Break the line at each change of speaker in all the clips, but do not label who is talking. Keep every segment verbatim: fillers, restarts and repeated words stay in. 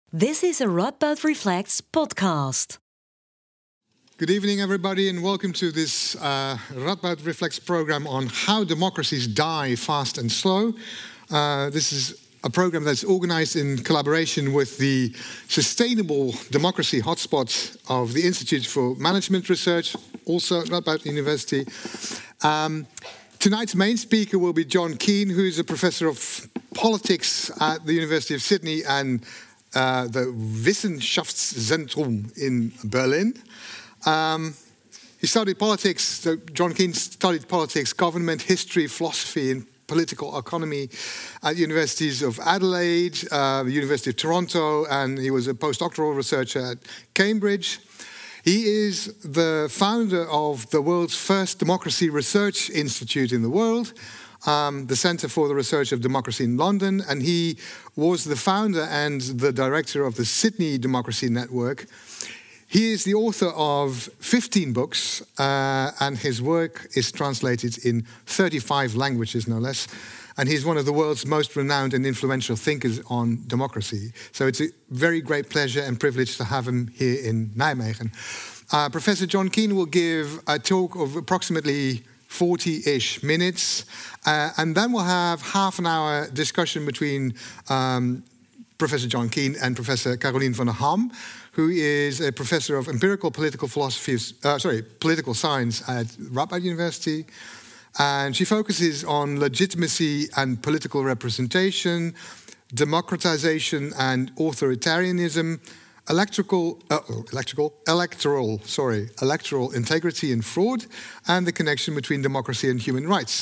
This is a Radboud Reflects podcast.
Good evening, everybody, and welcome to this uh, Radboud Reflects program on how democracies die fast and slow. Uh, this is a program that's organized in collaboration with the Sustainable Democracy Hotspot of the Institute for Management Research, also at Radboud University. Um, tonight's main speaker will be John Keane, who is a professor of politics at the University of Sydney and uh, the Wissenschaftszentrum in Berlin. Um, he studied politics, so John Keane studied politics, government, history, philosophy, and political economy at universities of Adelaide, uh, the University of Toronto, and he was a postdoctoral researcher at Cambridge. He is the founder of the world's first democracy research institute in the world, um, the Centre for the Research of Democracy in London, and he was the founder and the director of the Sydney Democracy Network. He is the author of fifteen books, uh, and his work is translated in thirty-five languages, no less. And he's one of the world's most renowned and influential thinkers on democracy. So it's a very great pleasure and privilege to have him here in Nijmegen. Uh, Professor John Keane will give a talk of approximately forty-ish minutes, uh, and then we'll have half an hour discussion between um, Professor John Keane and Professor Caroline van der Ham, who is a professor of empirical political philosophy, uh, sorry, political science at Radboud University. And she focuses on legitimacy and political representation, democratization and authoritarianism, electrical, uh, electrical, electoral, sorry, electoral integrity and fraud, and the connection between democracy and human rights.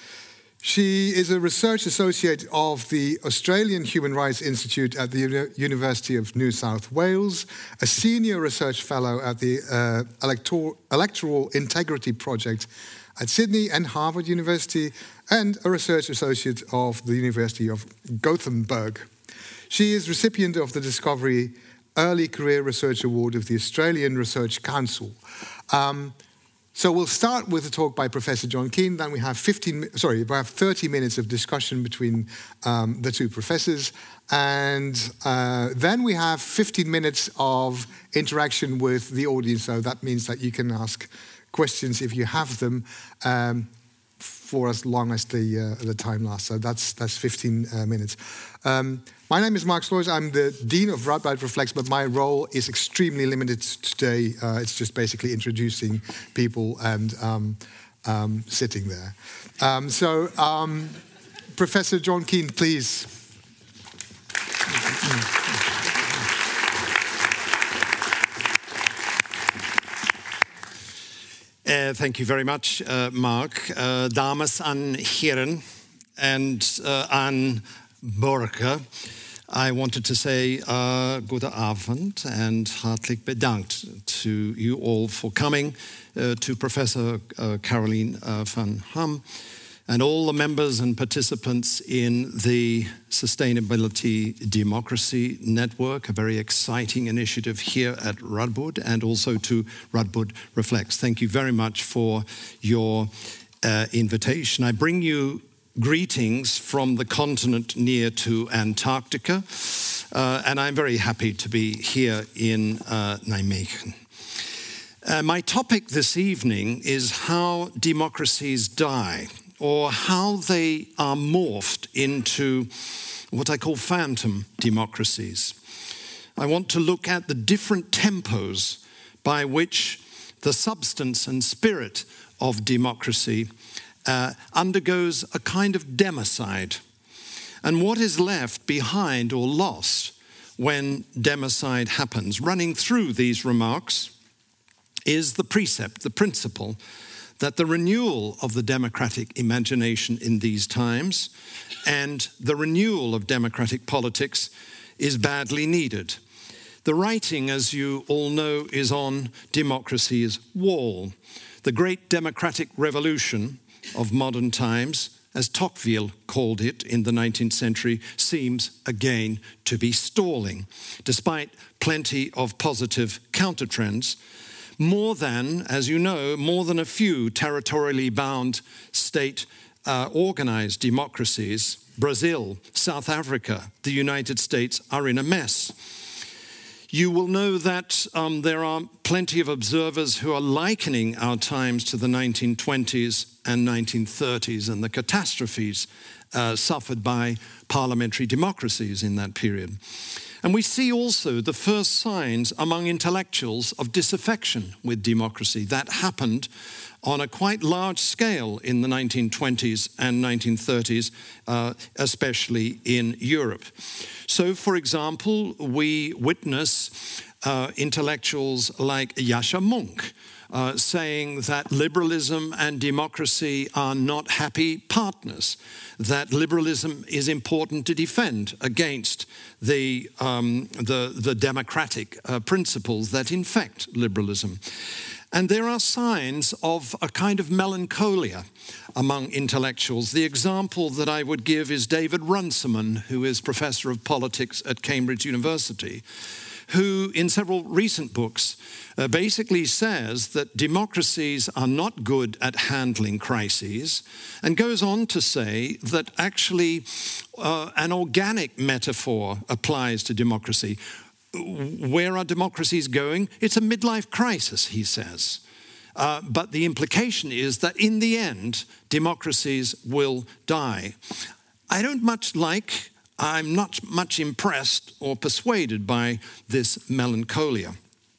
She is a research associate of the Australian Human Rights Institute at the Uni- University of New South Wales, a senior research fellow at the uh, Elector- Electoral Integrity Project at Sydney and Harvard University, and a research associate of the University of Gothenburg. She is recipient of the Discovery Early Career Research Award of the Australian Research Council. Um, So we'll start with a talk by Professor John Keane. Then we have fifteen, sorry, we have thirty minutes of discussion between um, the two professors, and uh, then we have fifteen minutes of interaction with the audience. So that means that you can ask questions if you have them, um, for as long as the uh, the time lasts. So that's that's fifteen uh, minutes. Um, My name is Mark Sloys. I'm the Dean of Radboud Reflects, but my role is extremely limited today. Uh, it's just basically introducing people and um, um, sitting there. Um, so, um, Professor John Keane, please.
Uh, thank you very much, uh, Mark. Uh, dames en heren, and uh, aan Borke. I wanted to say uh, gute Abend and hartelijk bedankt to you all for coming, uh, to Professor uh, Caroline uh, van Ham, and all the members and participants in the Sustainability Democracy Network, a very exciting initiative here at Radboud, and also to Radboud Reflects. Thank you very much for your uh, invitation. I bring you greetings from the continent near to Antarctica, uh, and I'm very happy to be here in uh, Nijmegen. Uh, my topic this evening is how democracies die, or how they are morphed into what I call phantom democracies. I want to look at the different tempos by which the substance and spirit of democracy Uh, undergoes a kind of democide, and what is left behind or lost when democide happens. Running through these remarks is the precept, the principle, that the renewal of the democratic imagination in these times and the renewal of democratic politics is badly needed. The writing, as you all know, is on democracy's wall. The great democratic revolution of modern times, as Tocqueville called it in the nineteenth century, seems again to be stalling, despite plenty of positive countertrends. More than, as you know, more than a few territorially bound state-organized uh, democracies, Brazil, South Africa, the United States, are in a mess. you will know that um, there are plenty of observers who are likening our times to the nineteen twenties and nineteen thirties and the catastrophes uh, suffered by parliamentary democracies in that period. And we see also the first signs among intellectuals of disaffection with democracy. That happened on a quite large scale in the nineteen twenties and nineteen thirties, uh, especially in Europe. So, for example, we witness uh, intellectuals like Yascha Mounk uh, saying that liberalism and democracy are not happy partners, that liberalism is important to defend against the, um, the, the democratic uh, principles that infect liberalism. And there are signs of a kind of melancholia among intellectuals. The example that I would give is David Runciman, who is professor of politics at Cambridge University, who in several recent books uh, basically says that democracies are not good at handling crises, and goes on to say that actually uh, an organic metaphor applies to democracy. Where are democracies going? It's a midlife crisis, he says. Uh, but the implication is that in the end, democracies will die. I don't much like, I'm not much impressed or persuaded by this melancholia.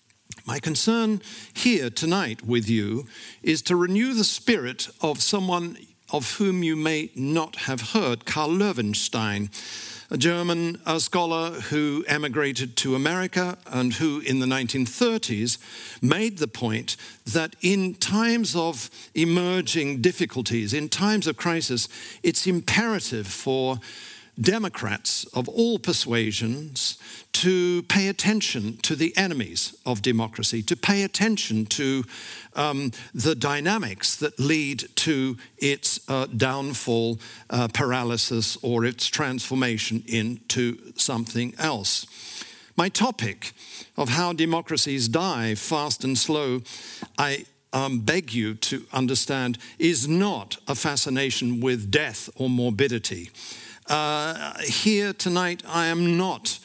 My concern here tonight with you is to renew the spirit of someone of whom you may not have heard, Karl Löwenstein, a German uh, scholar who emigrated to America and who in the nineteen thirties made the point that in times of emerging difficulties, in times of crisis, it's imperative for Democrats of all persuasions to pay attention to the enemies of democracy, to pay attention to um, the dynamics that lead to its uh, downfall, uh, paralysis, or its transformation into something else. My topic of how democracies die, fast and slow, I um, beg you to understand, is not a fascination with death or morbidity. Uh, here tonight, I am not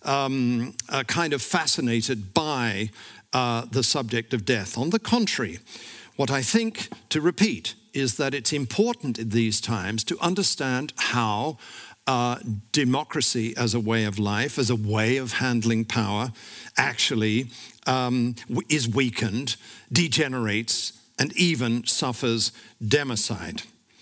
um, uh, kind of fascinated by uh, the subject of death. On the contrary, what I think, to repeat, is that it's important in these times to understand how uh, democracy as a way of life, as a way of handling power, actually um, is weakened, degenerates, and even suffers democide.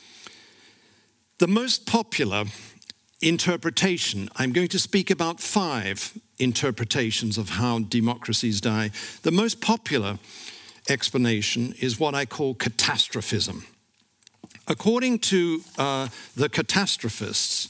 The most popular interpretation, I'm going to speak about five interpretations of how democracies die. The most popular explanation is what I call catastrophism. According to uh, the catastrophists,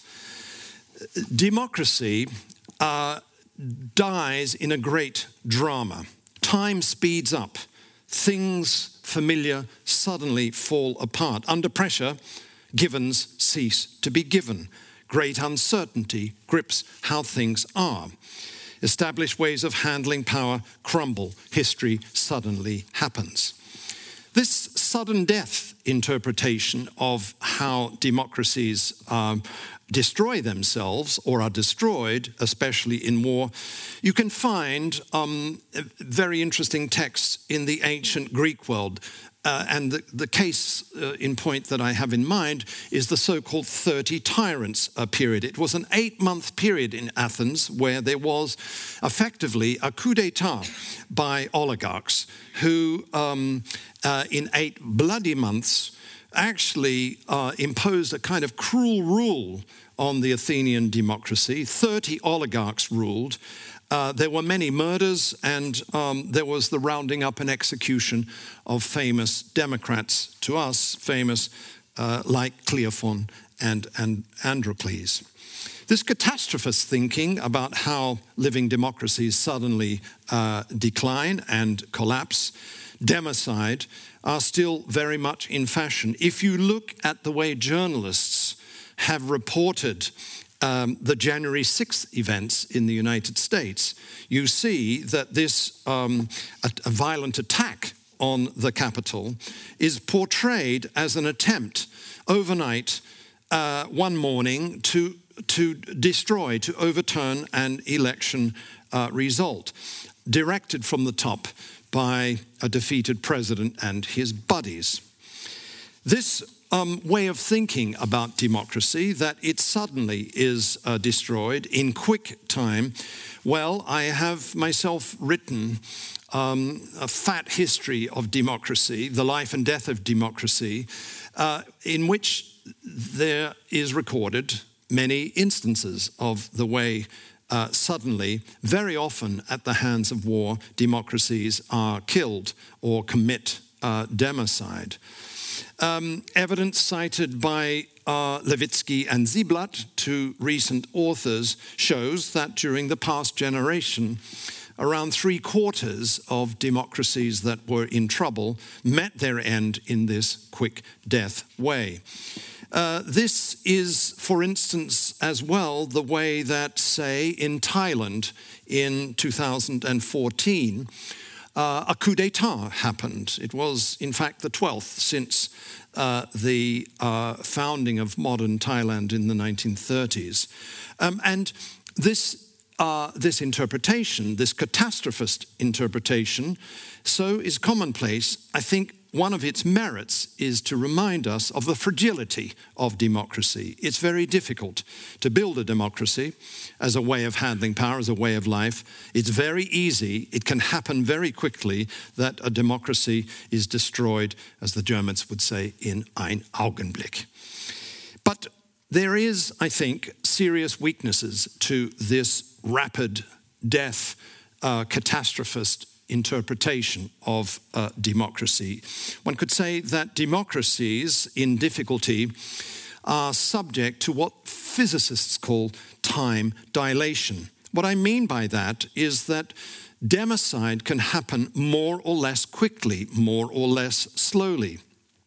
democracy uh, dies in a great drama. Time speeds up. Things familiar suddenly fall apart. Under pressure, givens cease to be given. Great uncertainty grips how things are. Established ways of handling power crumble. History suddenly happens. This sudden death interpretation of how democracies um, destroy themselves or are destroyed, especially in war, you can find um, very interesting texts in the ancient Greek world. Uh, and the, the case uh, in point that I have in mind is the so-called thirty Tyrants uh, period. It was an eight-month period in Athens where there was effectively a coup d'etat by oligarchs who, um, uh, in eight bloody months, actually uh, imposed a kind of cruel rule on the Athenian democracy. thirty oligarchs ruled. Uh, there were many murders, and um, there was the rounding up and execution of famous Democrats, to us famous, uh, like Cleophon and, and Androcles. This catastrophist thinking about how living democracies suddenly uh, decline and collapse, democide, are still very much in fashion. If you look at the way journalists have reported Um, the January sixth events in the United States, you see that this um, a, a violent attack on the Capitol is portrayed as an attempt overnight, uh, one morning, to, to destroy, to overturn an election uh, result, directed from the top by a defeated president and his buddies. This um, way of thinking about democracy, that it suddenly is uh, destroyed in quick time, well, I have myself written um, a fat history of democracy, the life and death of democracy, uh, in which there is recorded many instances of the way uh, suddenly, very often at the hands of war, democracies are killed or commit uh, democide. Um, evidence cited by uh, Levitsky and Ziblatt, two recent authors, shows that during the past generation, around three quarters of democracies that were in trouble met their end in this quick death way. Uh, this is, for instance, as well, the way that, say, in Thailand in two thousand fourteen, uh, a coup d'etat happened. It was, in fact, the twelfth since uh, the uh, founding of modern Thailand in the nineteen thirties. Um, and this Uh, this interpretation, this catastrophist interpretation, so is commonplace. I think one of its merits is to remind us of the fragility of democracy. It's very difficult to build a democracy as a way of handling power, as a way of life. It's very easy, it can happen very quickly that a democracy is destroyed, as the Germans would say, in ein Augenblick. But there is, I think, serious weaknesses to this rapid death uh, catastrophist interpretation of uh, democracy. One could say that democracies in difficulty are subject to what physicists call time dilation. What I mean by that is that democide can happen more or less quickly, more or less slowly.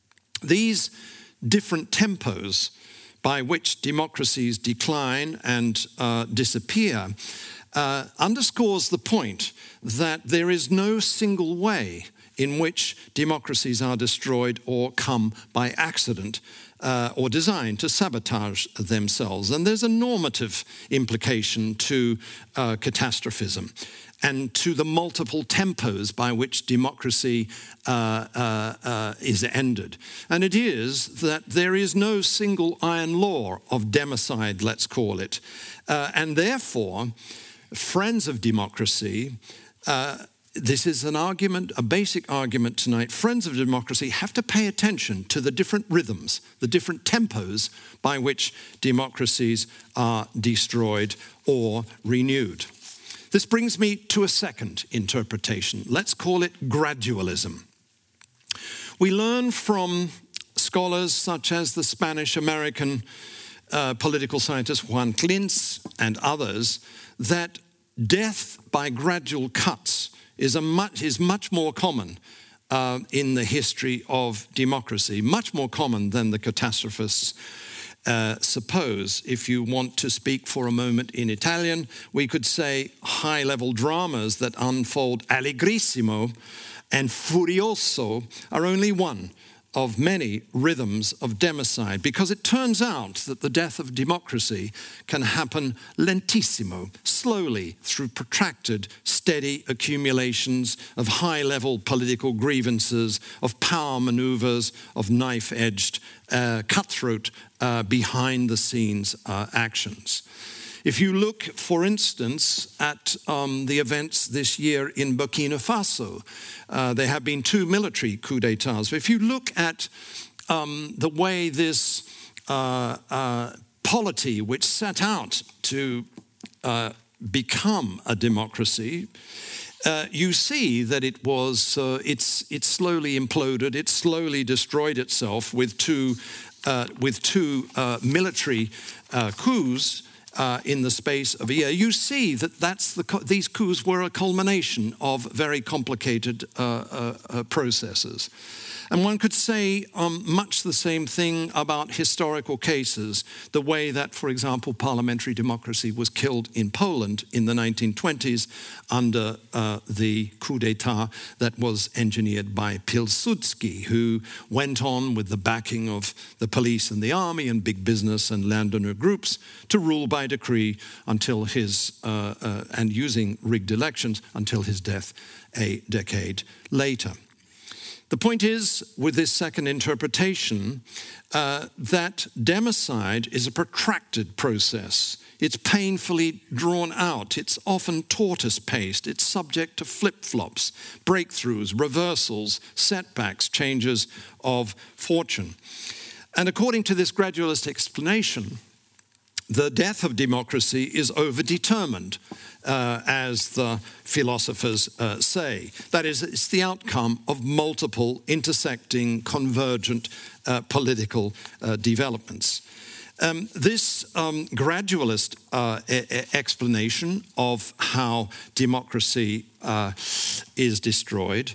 These different tempos by which democracies decline and uh, disappear, uh, underscores the point that there is no single way in which democracies are destroyed or come by accident uh, or designed to sabotage themselves. And there's a normative implication to uh, catastrophism and to the multiple tempos by which democracy uh, uh, uh, is ended. And it is that there is no single iron law of democide, let's call it. Uh, and therefore, friends of democracy, uh, this is an argument, a basic argument tonight, friends of democracy have to pay attention to the different rhythms, the different tempos by which democracies are destroyed or renewed. This brings me to a second interpretation. Let's call it gradualism. We learn from scholars such as the Spanish-American uh, political scientist Juan Klintz and others that death by gradual cuts is, a much, is much more common uh, in the history of democracy, much more common than the catastrophists Uh, suppose. If you want to speak for a moment in Italian, we could say high-level dramas that unfold allegrissimo and furioso are only one of many rhythms of democide, because it turns out that the death of democracy can happen lentissimo, slowly, through protracted, steady accumulations of high-level political grievances, of power maneuvers, of knife-edged, uh, cutthroat, uh, behind-the-scenes uh, actions. If you look, for instance, at um, the events this year in Burkina Faso, uh, there have been two military coups d'etats. If you look at um, the way this uh, uh, polity, which set out to uh, become a democracy, uh, you see that it was uh, it's it slowly imploded, it slowly destroyed itself with two uh, with two uh, military uh, coups. Uh, in the space of a year, you see that that's the co- these coups were a culmination of very complicated uh, uh, uh, processes. And one could say um, much the same thing about historical cases, the way that, for example, parliamentary democracy was killed in Poland in the nineteen twenties under uh, the coup d'etat that was engineered by Pilsudski, who went on with the backing of the police and the army and big business and landowner groups to rule by by decree until his, uh, uh, and using rigged elections until his death a decade later. The point is, with this second interpretation, uh, that democide is a protracted process. It's painfully drawn out. It's often tortoise-paced. It's subject to flip-flops, breakthroughs, reversals, setbacks, changes of fortune. And according to this gradualist explanation, the death of democracy is overdetermined, uh, as the philosophers uh, say. That is, it's the outcome of multiple intersecting, convergent uh, political uh, developments. Um, this um, gradualist uh, e- explanation of how democracy uh, is destroyed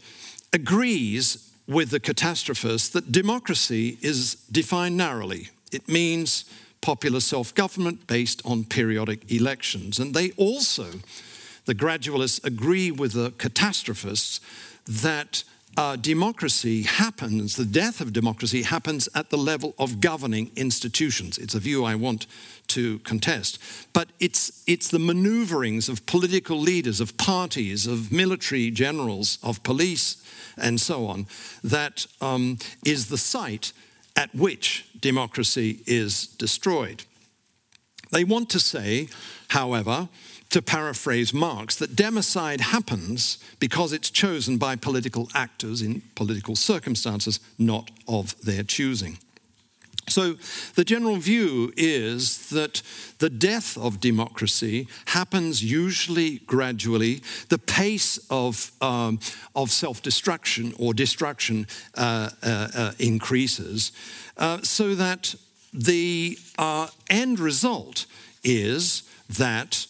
agrees with the catastrophists that democracy is defined narrowly. It means popular self-government based on periodic elections. And they also, the gradualists, agree with the catastrophists that uh, democracy happens, the death of democracy happens at the level of governing institutions. It's a view I want to contest. But it's, it's the maneuverings of political leaders, of parties, of military generals, of police, and so on, that um, is the site at which democracy is destroyed. They want to say, however, to paraphrase Marx, that democide happens because it's chosen by political actors in political circumstances, not of their choosing. So the general view is that the death of democracy happens usually gradually. The pace of, um, of self-destruction or destruction uh, uh, uh, increases, uh, so that the uh, end result is that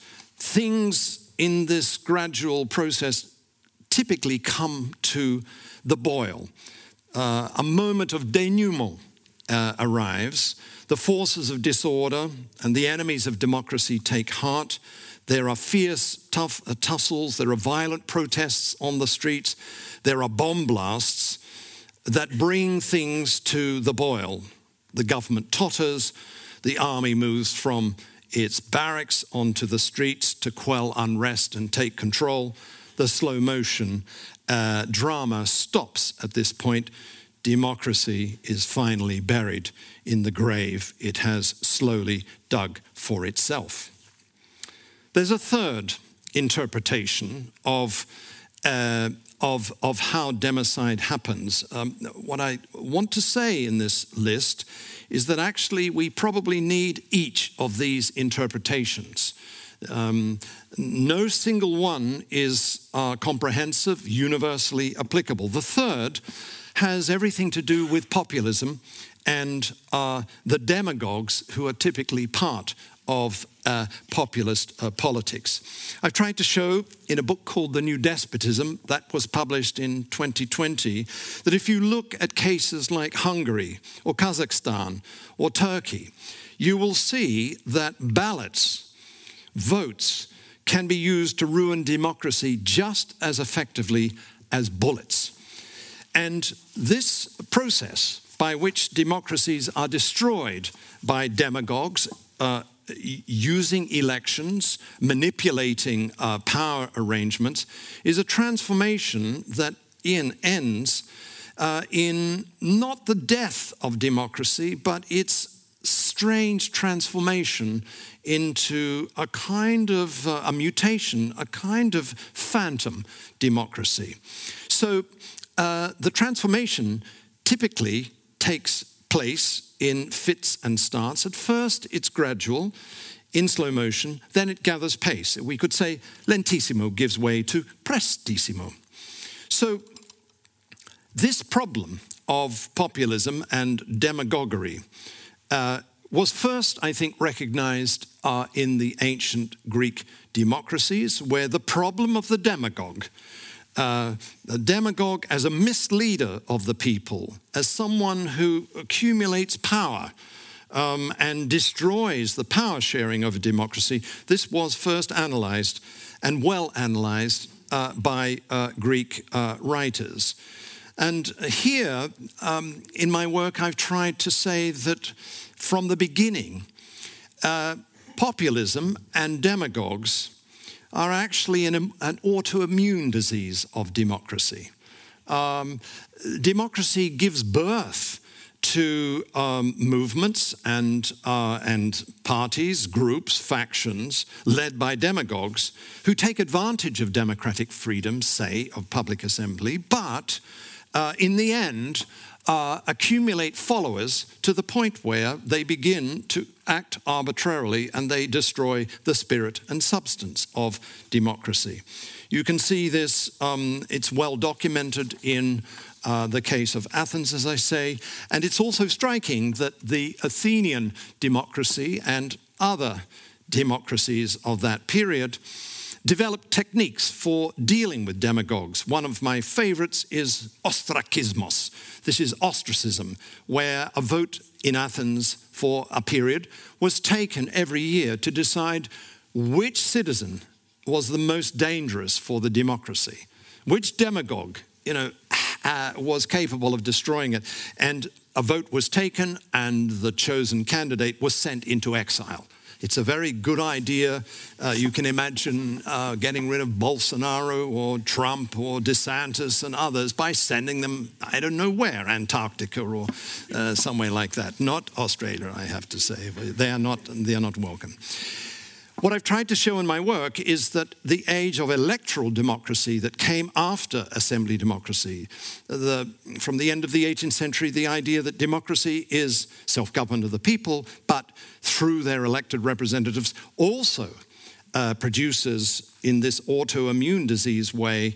things in this gradual process typically come to the boil. Uh, a moment of denouement Uh, arrives, the forces of disorder and the enemies of democracy take heart. There are fierce, tough uh, tussles, there are violent protests on the streets, there are bomb blasts that bring things to the boil. The government totters, the army moves from its barracks onto the streets to quell unrest and take control. The slow motion uh, drama stops at this point. Democracy is finally buried in the grave it has slowly dug for itself. There's a third interpretation of, uh, of, of how democide happens. Um, what I want to say in this list is that actually we probably need each of these interpretations. Um, no single one is uh, comprehensive, universally applicable. The third has everything to do with populism and uh, the demagogues who are typically part of uh, populist uh, politics. I've tried to show in a book called The New Despotism, that was published in twenty twenty, that if you look at cases like Hungary or Kazakhstan or Turkey, you will see that ballots, votes, can be used to ruin democracy just as effectively as bullets. And this process by which democracies are destroyed by demagogues uh, using elections, manipulating uh, power arrangements, is a transformation that in ends uh, in not the death of democracy, but its strange transformation into a kind of uh, a mutation, a kind of phantom democracy. So uh, the transformation typically takes place in fits and starts. At first, it's gradual, in slow motion, then it gathers pace. We could say lentissimo gives way to prestissimo. So this problem of populism and demagoguery uh, was first, I think, recognized uh, in the ancient Greek democracies, where the problem of the demagogue, uh, the demagogue as a misleader of the people, as someone who accumulates power um, and destroys the power sharing of a democracy, this was first analyzed and well analyzed uh, by uh, Greek uh, writers. And here, um, in my work, I've tried to say that from the beginning, uh, populism and demagogues are actually an, an autoimmune disease of democracy. Um, democracy gives birth to um, movements and, uh, and parties, groups, factions led by demagogues who take advantage of democratic freedom, say, of public assembly, but uh, in the end uh, accumulate followers to the point where they begin to act arbitrarily and they destroy the spirit and substance of democracy. You can see this, um, it's well documented in Uh, the case of Athens, as I say, and it's also striking that the Athenian democracy and other democracies of that period developed techniques for dealing with demagogues. One of my favorites is ostrakismos. This is ostracism, where a vote in Athens for a period was taken every year to decide which citizen was the most dangerous for the democracy, which demagogue, you know, Uh, was capable of destroying it. And a vote was taken and the chosen candidate was sent into exile. It's a very good idea. Uh, you can imagine uh, getting rid of Bolsonaro or Trump or DeSantis and others by sending them, I don't know where, Antarctica or uh, somewhere like that. Not Australia, I have to say. They are not, they are not welcome. What I've tried to show in my work is that the age of electoral democracy that came after assembly democracy, the, from the end of the eighteenth century, the idea that democracy is self-government of the people, but through their elected representatives also uh, produces, in this autoimmune disease way,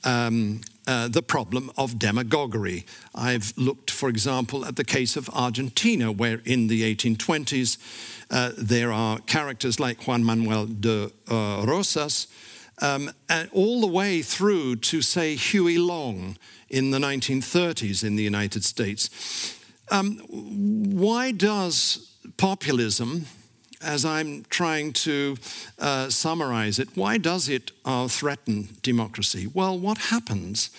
um, uh, the problem of demagoguery. I've looked, for example, at the case of Argentina, where in the eighteen twenties, Uh, there are characters like Juan Manuel de uh, Rosas, um, and all the way through to, say, Huey Long in the nineteen thirties in the United States. Um, why does populism, as I'm trying to uh, summarize it, why does it uh, threaten democracy? Well, what happens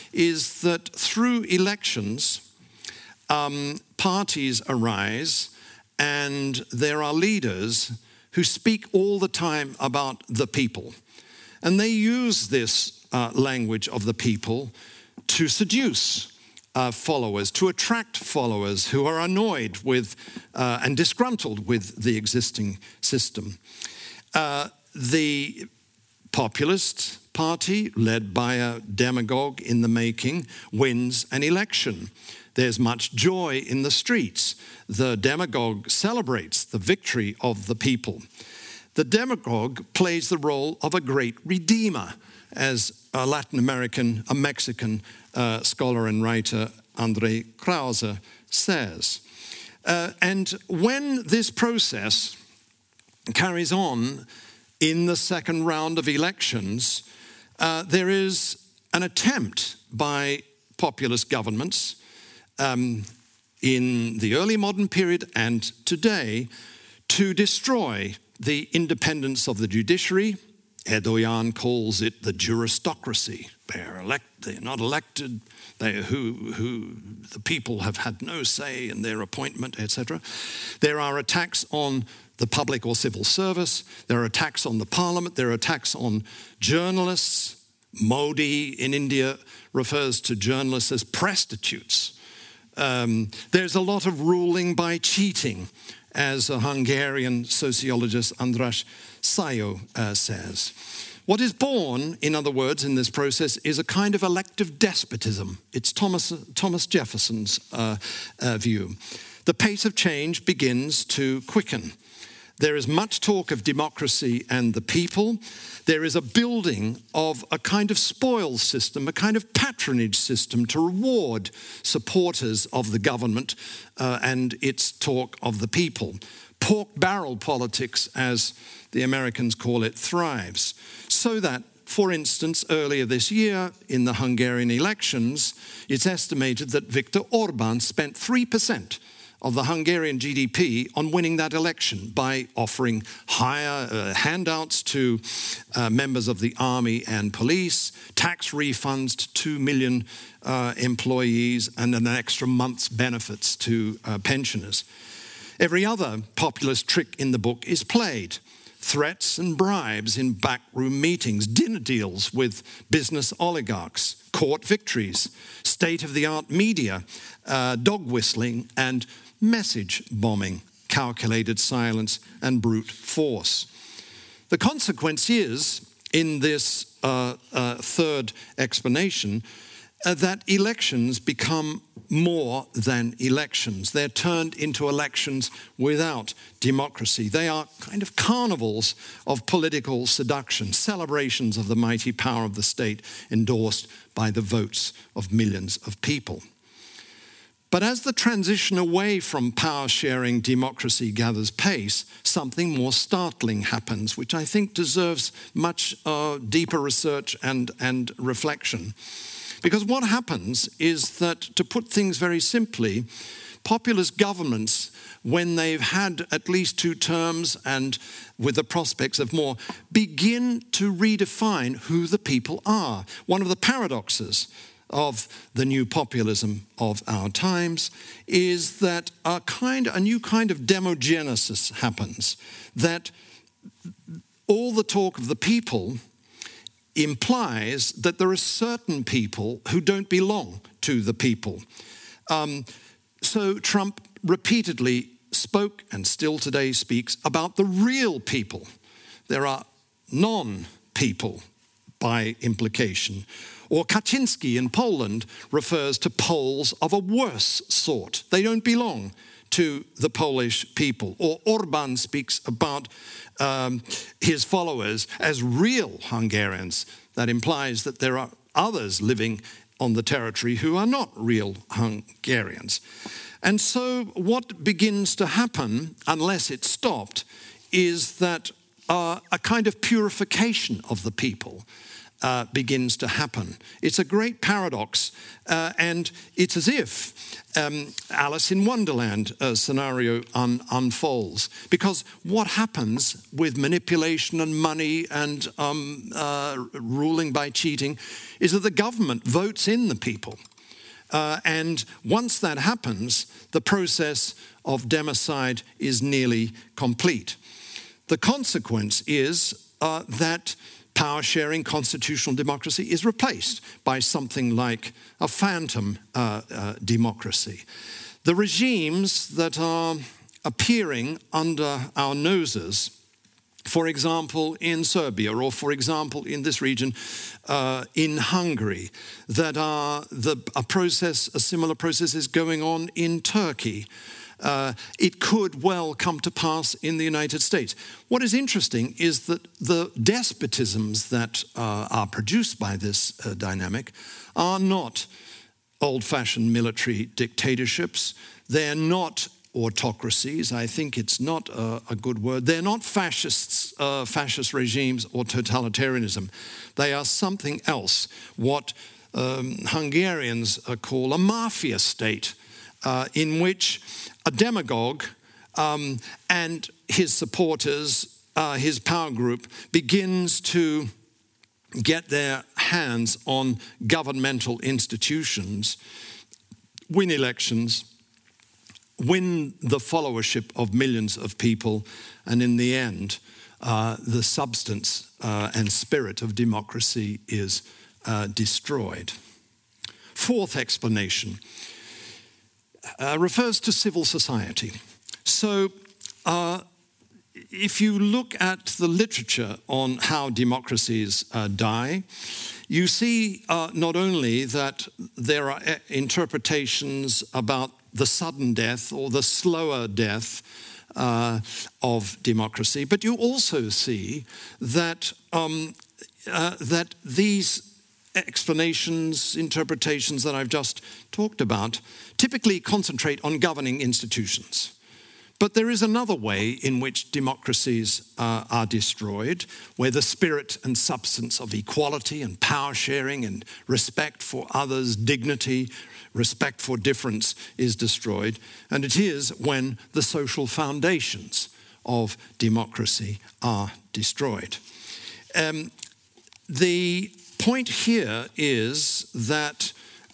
is that through elections, um, parties arise, and there are leaders who speak all the time about the people. And they use this uh, language of the people to seduce uh, followers, to attract followers who are annoyed with uh, and disgruntled with the existing system. Uh, the populist party, led by a demagogue in the making, wins an election. There's much joy in the streets. The demagogue celebrates the victory of the people. The demagogue plays the role of a great redeemer, as a Latin American, a Mexican uh, scholar and writer, André Krause, says. Uh, and when this process carries on in the second round of elections, uh, there is an attempt by populist governments Um, in the early modern period and today to destroy the independence of the judiciary. Erdogan calls it the juristocracy. They are elect, they are not elected, they who, who the people have had no say in their appointment, et cetera. There are attacks on the public or civil service. There are attacks on the parliament. There are attacks on journalists. Modi in India refers to journalists as prostitutes. Um, there's a lot of ruling by cheating, as a Hungarian sociologist, András Szajó, uh, says. What is born, in other words, in this process is a kind of elective despotism. It's Thomas, Thomas Jefferson's uh, uh, view. The pace of change begins to quicken. There is much talk of democracy and the people. There is a building of a kind of spoils system, a kind of patronage system to reward supporters of the government uh, and its talk of the people. Pork barrel politics, as the Americans call it, thrives. So that, for instance, earlier this year in the Hungarian elections, it's estimated that Viktor Orbán spent three percent of the Hungarian G D P on winning that election by offering higher uh, handouts to uh, members of the army and police, tax refunds to two million uh, employees, and an extra month's benefits to uh, pensioners. Every other populist trick in the book is played. Threats and bribes in backroom meetings, dinner deals with business oligarchs, court victories, state-of-the-art media, uh, dog whistling and message bombing, calculated silence and brute force. The consequence is, in this uh, uh, third explanation, uh, that elections become more than elections. They're turned into elections without democracy. They are kind of carnivals of political seduction, celebrations of the mighty power of the state endorsed by the votes of millions of people. But as the transition away from power-sharing democracy gathers pace, something more startling happens, which I think deserves much uh, deeper research and, and reflection. Because what happens is that, to put things very simply, populist governments, when they've had at least two terms and with the prospects of more, begin to redefine who the people are. One of the paradoxes of the new populism of our times is that a kind, a new kind of demogenesis happens, that all the talk of the people implies that there are certain people who don't belong to the people. Um, so Trump repeatedly spoke, and still today speaks, about the real people. There are non-people by implication. Or Kaczynski in Poland refers to Poles of a worse sort. They don't belong to the Polish people. Or Orban speaks about um, his followers as real Hungarians. That implies that there are others living on the territory who are not real Hungarians. And so what begins to happen, unless it's stopped, is that uh, a kind of purification of the people Uh, begins to happen. It's a great paradox, uh, and it's as if um, Alice in Wonderland uh, scenario un- unfolds. Because what happens with manipulation and money and um, uh, ruling by cheating is that the government votes in the people. Uh, and once that happens, the process of democide is nearly complete. The consequence is uh, that power-sharing constitutional democracy is replaced by something like a phantom uh, uh, democracy. The regimes that are appearing under our noses, for example, in Serbia, or for example, in this region, uh, in Hungary, that are the, a process, a similar process is going on in Turkey. Uh, it could well come to pass in the United States. What is interesting is that the despotisms that uh, are produced by this uh, dynamic are not old-fashioned military dictatorships. They're not autocracies. I think it's not a, a good word. They're not fascists, uh, fascist regimes or totalitarianism. They are something else, what um, Hungarians uh, call a mafia state, uh, in which a demagogue um, and his supporters, uh, his power group, begins to get their hands on governmental institutions, win elections, win the followership of millions of people, and in the end, uh, the substance uh, and spirit of democracy is uh, destroyed. Fourth explanation uh, refers to civil society. So, uh, if you look at the literature on how democracies uh, die, you see uh, not only that there are interpretations about the sudden death or the slower death uh, of democracy, but you also see that um, uh, that these explanations, interpretations that I've just talked about, typically concentrate on governing institutions. But there is another way in which democracies uh, are destroyed, where the spirit and substance of equality and power sharing and respect for others' dignity, respect for difference is destroyed. And it is when the social foundations of democracy are destroyed. Um, the point here is that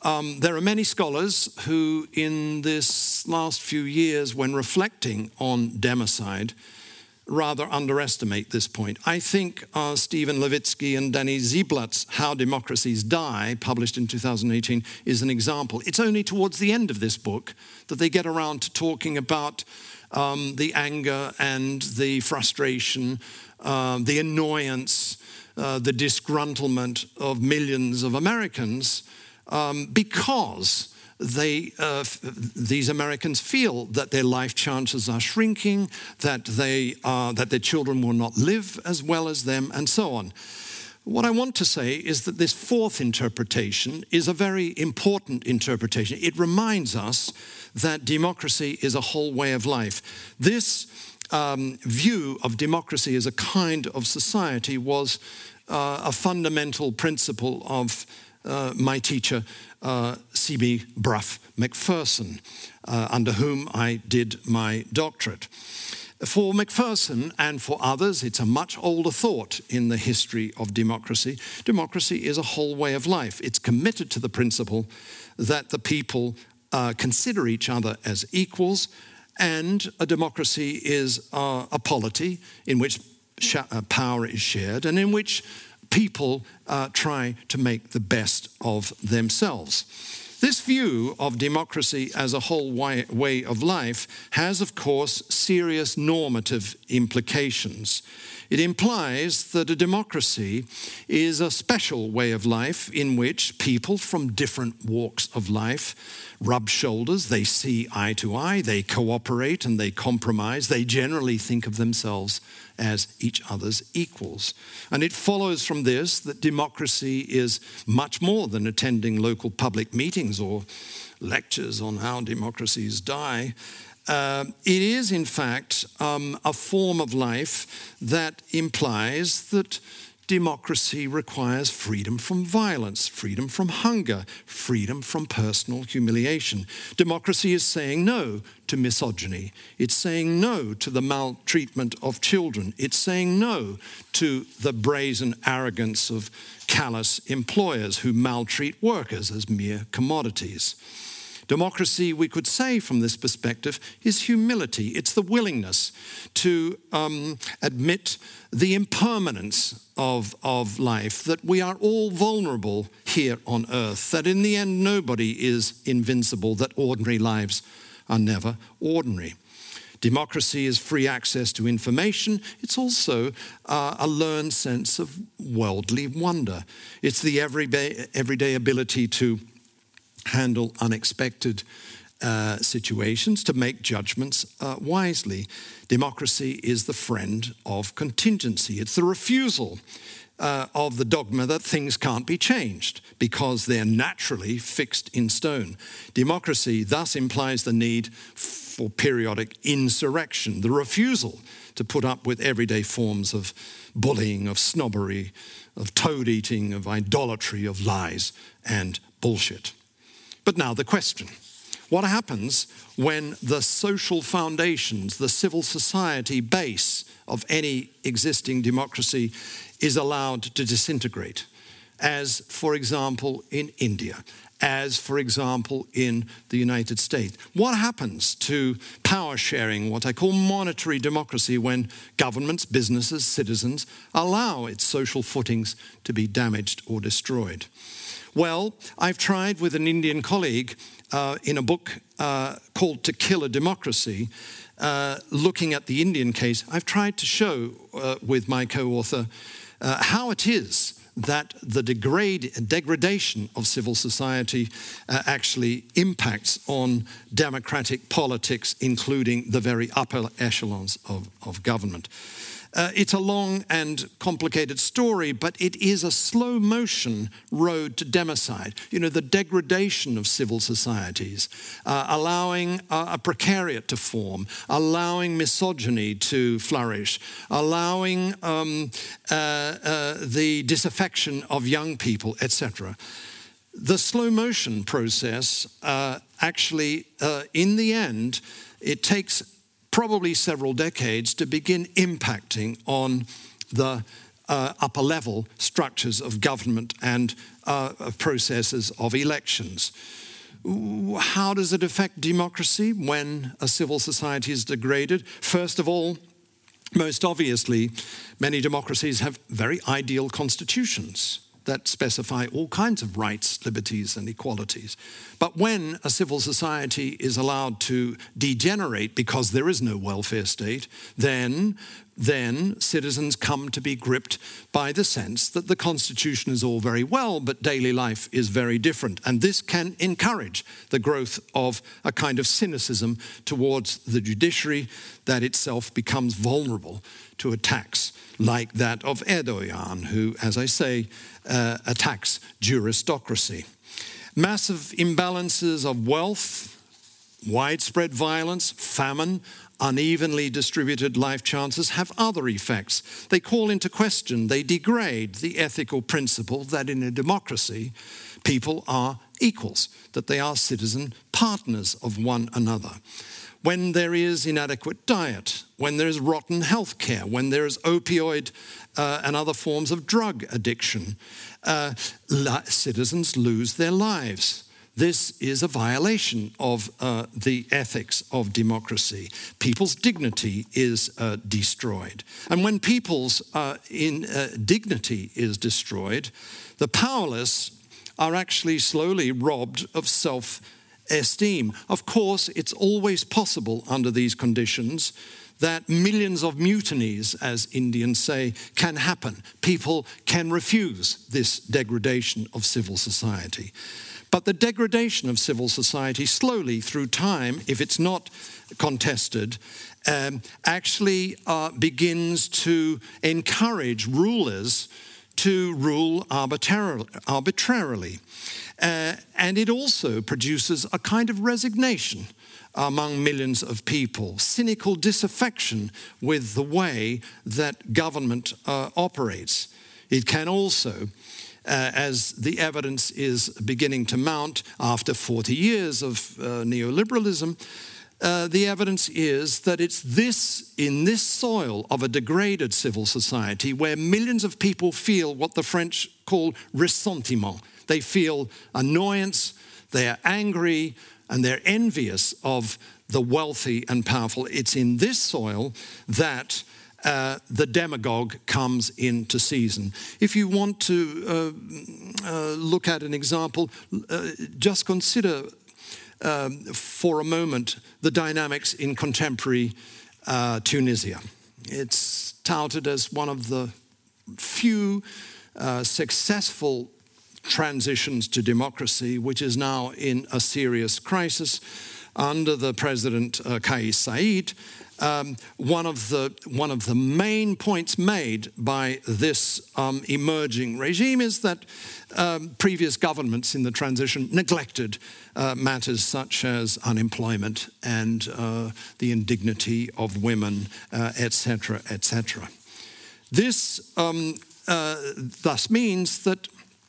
Um, there are many scholars who, in this last few years, when reflecting on democide, rather underestimate this point. I think uh, Stephen Levitsky and Danny Ziblatt's How Democracies Die, published in two thousand eighteen, is an example. It's only towards the end of this book that they get around to talking about um, the anger and the frustration, uh, the annoyance, uh, the disgruntlement of millions of Americans um, because They, uh, f- these Americans feel that their life chances are shrinking, that they are, that their children will not live as well as them, and so on. What I want to say is that this fourth interpretation is a very important interpretation. It reminds us that democracy is a whole way of life. This um, view of democracy as a kind of society was uh, a fundamental principle of uh, my teacher, Uh, C B Brough Macpherson, uh, under whom I did my doctorate. For Macpherson and for others, it's a much older thought in the history of democracy. Democracy is a whole way of life. It's committed to the principle that the people uh, consider each other as equals, and a democracy is uh, a polity in which sh- uh, power is shared and in which people uh, try to make the best of themselves. This view of democracy as a whole way, way of life has, of course, serious normative implications. It implies that a democracy is a special way of life in which people from different walks of life rub shoulders, they see eye to eye, they cooperate and they compromise, they generally think of themselves as each other's equals. And it follows from this that democracy is much more than attending local public meetings or lectures on how democracies die. Uh, it is, in fact, um, a form of life that implies that democracy requires freedom from violence, freedom from hunger, freedom from personal humiliation. Democracy is saying no to misogyny. It's saying no to the maltreatment of children. It's saying no to the brazen arrogance of callous employers who maltreat workers as mere commodities. Democracy, we could say from this perspective, is humility. It's the willingness to um, admit the impermanence of, of life, that we are all vulnerable here on earth, that in the end nobody is invincible, that ordinary lives are never ordinary. Democracy is free access to information. It's also uh, a learned sense of worldly wonder. It's the everyday, everyday ability to handle unexpected uh, situations, to make judgments uh, wisely. Democracy is the friend of contingency. It's the refusal uh, of the dogma that things can't be changed because they're naturally fixed in stone. Democracy thus implies the need for periodic insurrection, the refusal to put up with everyday forms of bullying, of snobbery, of toad-eating, of idolatry, of lies and bullshit. But now the question, what happens when the social foundations, the civil society base of any existing democracy is allowed to disintegrate? As, for example, in India, as, for example, in the United States. What happens to power sharing, what I call monetary democracy, when governments, businesses, citizens allow its social footings to be damaged or destroyed? Well, I've tried with an Indian colleague uh, in a book uh, called To Kill a Democracy, uh, looking at the Indian case, I've tried to show uh, with my co-author uh, how it is that the degrade, degradation of civil society uh, actually impacts on democratic politics, including the very upper echelons of, of government. Uh, it's a long and complicated story, but it is a slow motion road to democide. You know, the degradation of civil societies, uh, allowing uh, a precariat to form, allowing misogyny to flourish, allowing um, uh, uh, the disaffection of young people, et cetera. The slow motion process uh, actually, uh, in the end, it takes probably several decades to begin impacting on the uh, upper level structures of government and uh, processes of elections. How does it affect democracy when a civil society is degraded? First of all, most obviously, many democracies have very ideal constitutions that specify all kinds of rights, liberties, and equalities. But when a civil society is allowed to degenerate because there is no welfare state, then, then citizens come to be gripped by the sense that the constitution is all very well, but daily life is very different. And this can encourage the growth of a kind of cynicism towards the judiciary that itself becomes vulnerable to attacks like that of Erdogan, who, as I say, uh, attacks juristocracy. Massive imbalances of wealth, widespread violence, famine, unevenly distributed life chances have other effects. They call into question, they degrade the ethical principle that in a democracy, people are equals, that they are citizen partners of one another. When there is inadequate diet, when there is rotten health care, when there is opioid uh, and other forms of drug addiction, uh, la- citizens lose their lives. This is a violation of uh, the ethics of democracy. People's dignity is uh, destroyed. And when people's uh, in, uh, dignity is destroyed, the powerless are actually slowly robbed of self-esteem. Of course, it's always possible under these conditions that millions of mutinies, as Indians say, can happen. People can refuse this degradation of civil society. But the degradation of civil society slowly through time, if it's not contested, um, actually uh, begins to encourage rulers to rule arbitrar- arbitrarily. Uh, and it also produces a kind of resignation among millions of people, cynical disaffection with the way that government uh, operates. It can also, Uh, as the evidence is beginning to mount after forty years of uh, neoliberalism, uh, the evidence is that it's this, in this soil of a degraded civil society where millions of people feel what the French call ressentiment. They feel annoyance, they're angry, and they're envious of the wealthy and powerful. It's in this soil that Uh, the demagogue comes into season. If you want to uh, uh, look at an example, uh, just consider um, for a moment the dynamics in contemporary uh, Tunisia. It's touted as one of the few uh, successful transitions to democracy, which is now in a serious crisis under the president uh, Kais Saied. Um, one of the one of the main points made by this um, emerging regime is that um, previous governments in the transition neglected uh, matters such as unemployment and uh, the indignity of women, uh, et cetera, et cetera. This um, uh, thus means that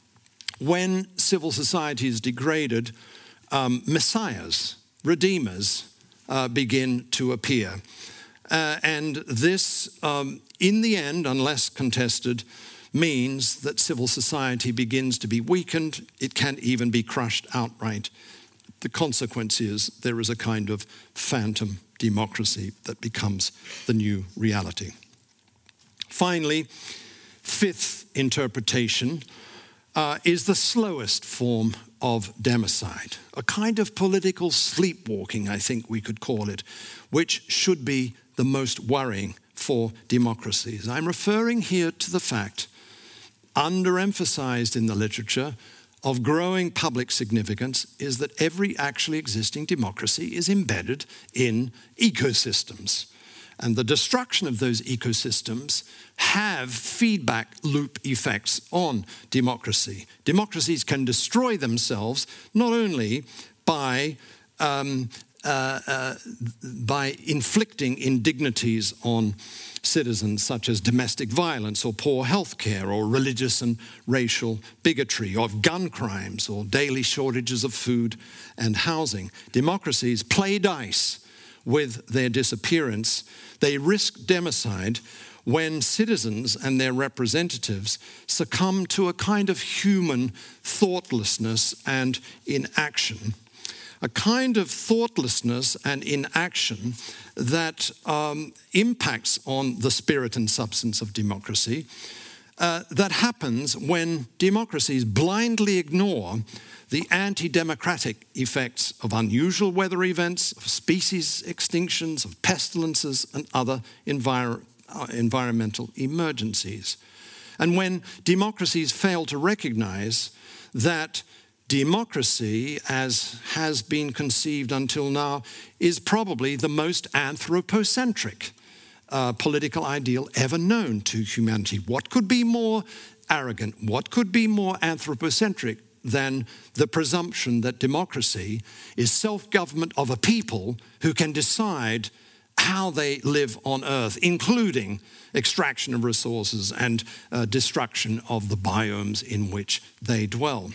when civil society is degraded, um, messiahs, redeemers, uh, begin to appear. Uh, and this, um, in the end, unless contested, means that civil society begins to be weakened. It can even be crushed outright. The consequence is there is a kind of phantom democracy that becomes the new reality. Finally, fifth interpretation uh, is the slowest form of democide, a kind of political sleepwalking, I think we could call it, which should be the most worrying for democracies. I'm referring here to the fact, underemphasized in the literature, of growing public significance is that every actually existing democracy is embedded in ecosystems. And the destruction of those ecosystems have feedback loop effects on democracy. Democracies can destroy themselves not only by um, uh, uh, by inflicting indignities on citizens, such as domestic violence or poor health care or religious and racial bigotry, or gun crimes or daily shortages of food and housing. Democracies play dice with their disappearance. They risk democide when citizens and their representatives succumb to a kind of human thoughtlessness and inaction. A kind of thoughtlessness and inaction that um, impacts on the spirit and substance of democracy, uh, that happens when democracies blindly ignore the anti-democratic effects of unusual weather events, of species extinctions, of pestilences and other envir- uh, environmental emergencies. And when democracies fail to recognize that democracy, as has been conceived until now, is probably the most anthropocentric uh, political ideal ever known to humanity. What could be more arrogant? What could be more anthropocentric than the presumption that democracy is self-government of a people who can decide how they live on Earth, including extraction of resources and uh, destruction of the biomes in which they dwell.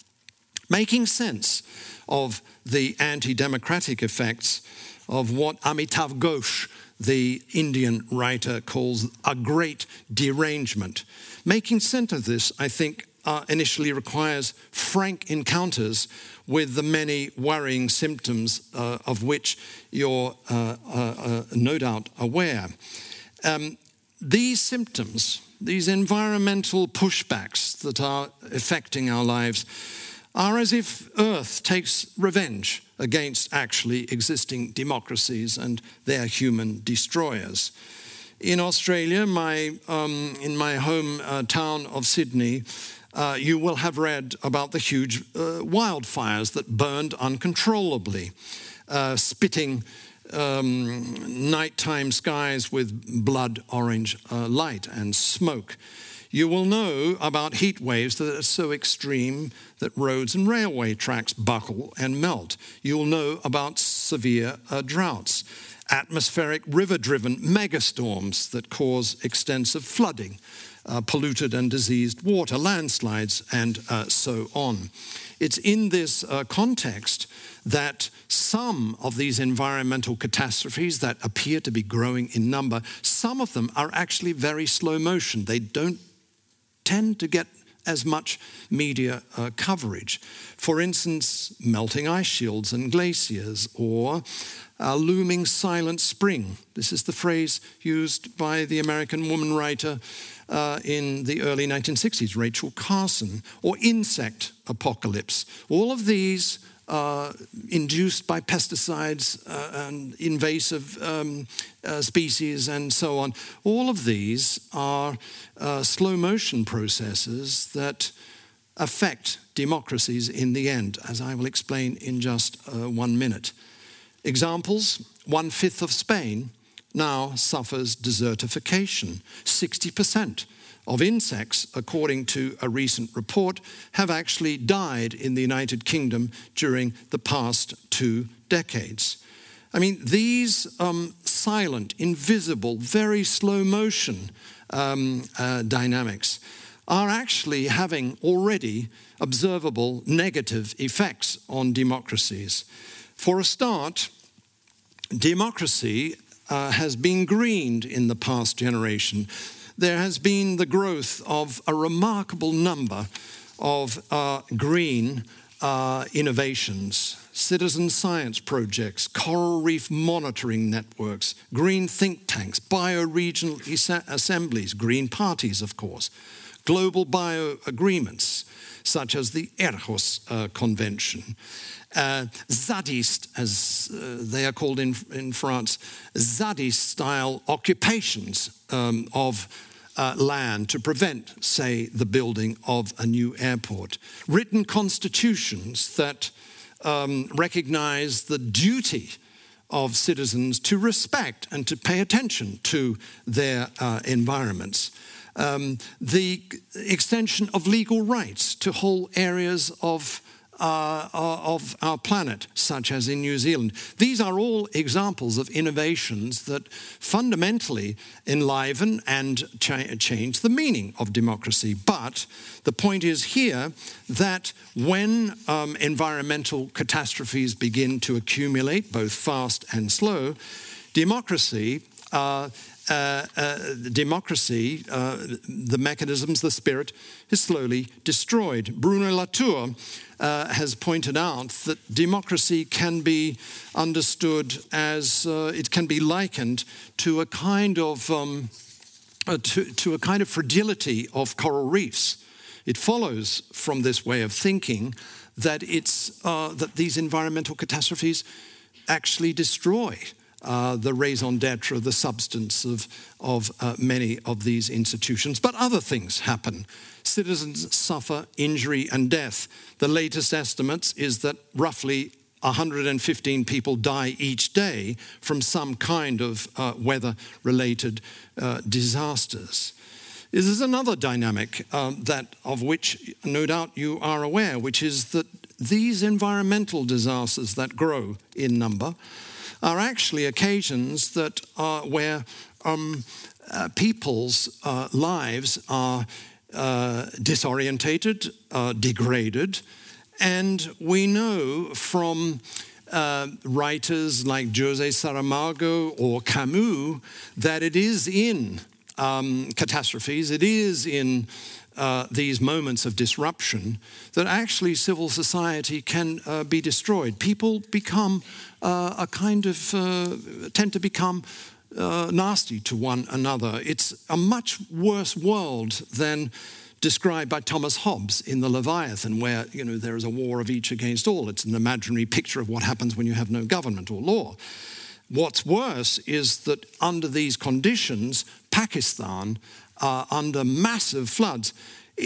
Making sense of the anti-democratic effects of what Amitav Ghosh, the Indian writer, calls a great derangement. Making sense of this, I think, uh, initially requires frank encounters with the many worrying symptoms uh, of which you're uh, uh, uh, no doubt aware. Um, these symptoms, these environmental pushbacks that are affecting our lives, are as if Earth takes revenge against actually existing democracies and their human destroyers. In Australia, my, um, in my home uh, town of Sydney, uh, you will have read about the huge uh, wildfires that burned uncontrollably, uh, spitting um, nighttime skies with blood orange uh, light and smoke. You will know about heat waves that are so extreme that roads and railway tracks buckle and melt. You'll know about severe uh, droughts, atmospheric river-driven megastorms that cause extensive flooding, uh, polluted and diseased water, landslides, and uh, so on. It's in this uh, context that some of these environmental catastrophes that appear to be growing in number, some of them are actually very slow motion. They don't tend to get as much media uh, coverage. For instance, melting ice shields and glaciers, or a looming silent spring. This is the phrase used by the American woman writer uh, in the early nineteen sixties, Rachel Carson, or insect apocalypse. All of these Uh, induced by pesticides uh, and invasive um, uh, species and so on. All of these are uh, slow motion processes that affect democracies in the end, as I will explain in just uh, one minute. Examples: one-fifth of Spain now suffers desertification. sixty percent of insects, according to a recent report, have actually died in the United Kingdom during the past two decades. I mean, these um, silent, invisible, very slow motion um, uh, dynamics are actually having already observable negative effects on democracies. For a start, democracy uh, has been greened in the past generation. There has been the growth of a remarkable number of uh, green uh, innovations, citizen science projects, coral reef monitoring networks, green think tanks, bioregional assemblies, green parties, of course, global bio-agreements, such as the Aarhus uh, Convention. Uh, Zadist, as uh, they are called in, in France, Zadist-style occupations um, of uh, land to prevent, say, the building of a new airport. Written constitutions that um, recognize the duty of citizens to respect and to pay attention to their uh, environments. Um, the extension of legal rights to whole areas of Uh, of our planet, such as in New Zealand. These are all examples of innovations that fundamentally enliven and cha- change the meaning of democracy. But the point is here that when um, environmental catastrophes begin to accumulate, both fast and slow, democracy uh, uh, uh, democracy, uh, the mechanisms, the spirit, is slowly destroyed. Bruno Latour uh, has pointed out that democracy can be understood as, uh, it can be likened to a kind of, um, uh, to, to a kind of fragility of coral reefs. It follows from this way of thinking that it's uh, that these environmental catastrophes actually destroy uh, the raison d'etre, the substance of, of uh, many of these institutions. But other things happen. Citizens suffer injury and death. The latest estimates is that roughly one hundred fifteen people die each day from some kind of uh, weather-related uh, disasters. This is another dynamic um, that of which no doubt you are aware, which is that these environmental disasters that grow in number are actually occasions that are where um, uh, people's uh, lives are uh, disorientated, uh, degraded, and we know from uh, writers like José Saramago or Camus that it is in Um, catastrophes, it is in uh, these moments of disruption that actually civil society can uh, be destroyed. People become uh, a kind of, uh, tend to become uh, nasty to one another. It's a much worse world than described by Thomas Hobbes in The Leviathan, where, you know, there is a war of each against all. It's an imaginary picture of what happens when you have no government or law. What's worse is that under these conditions, Pakistan, uh, under massive floods,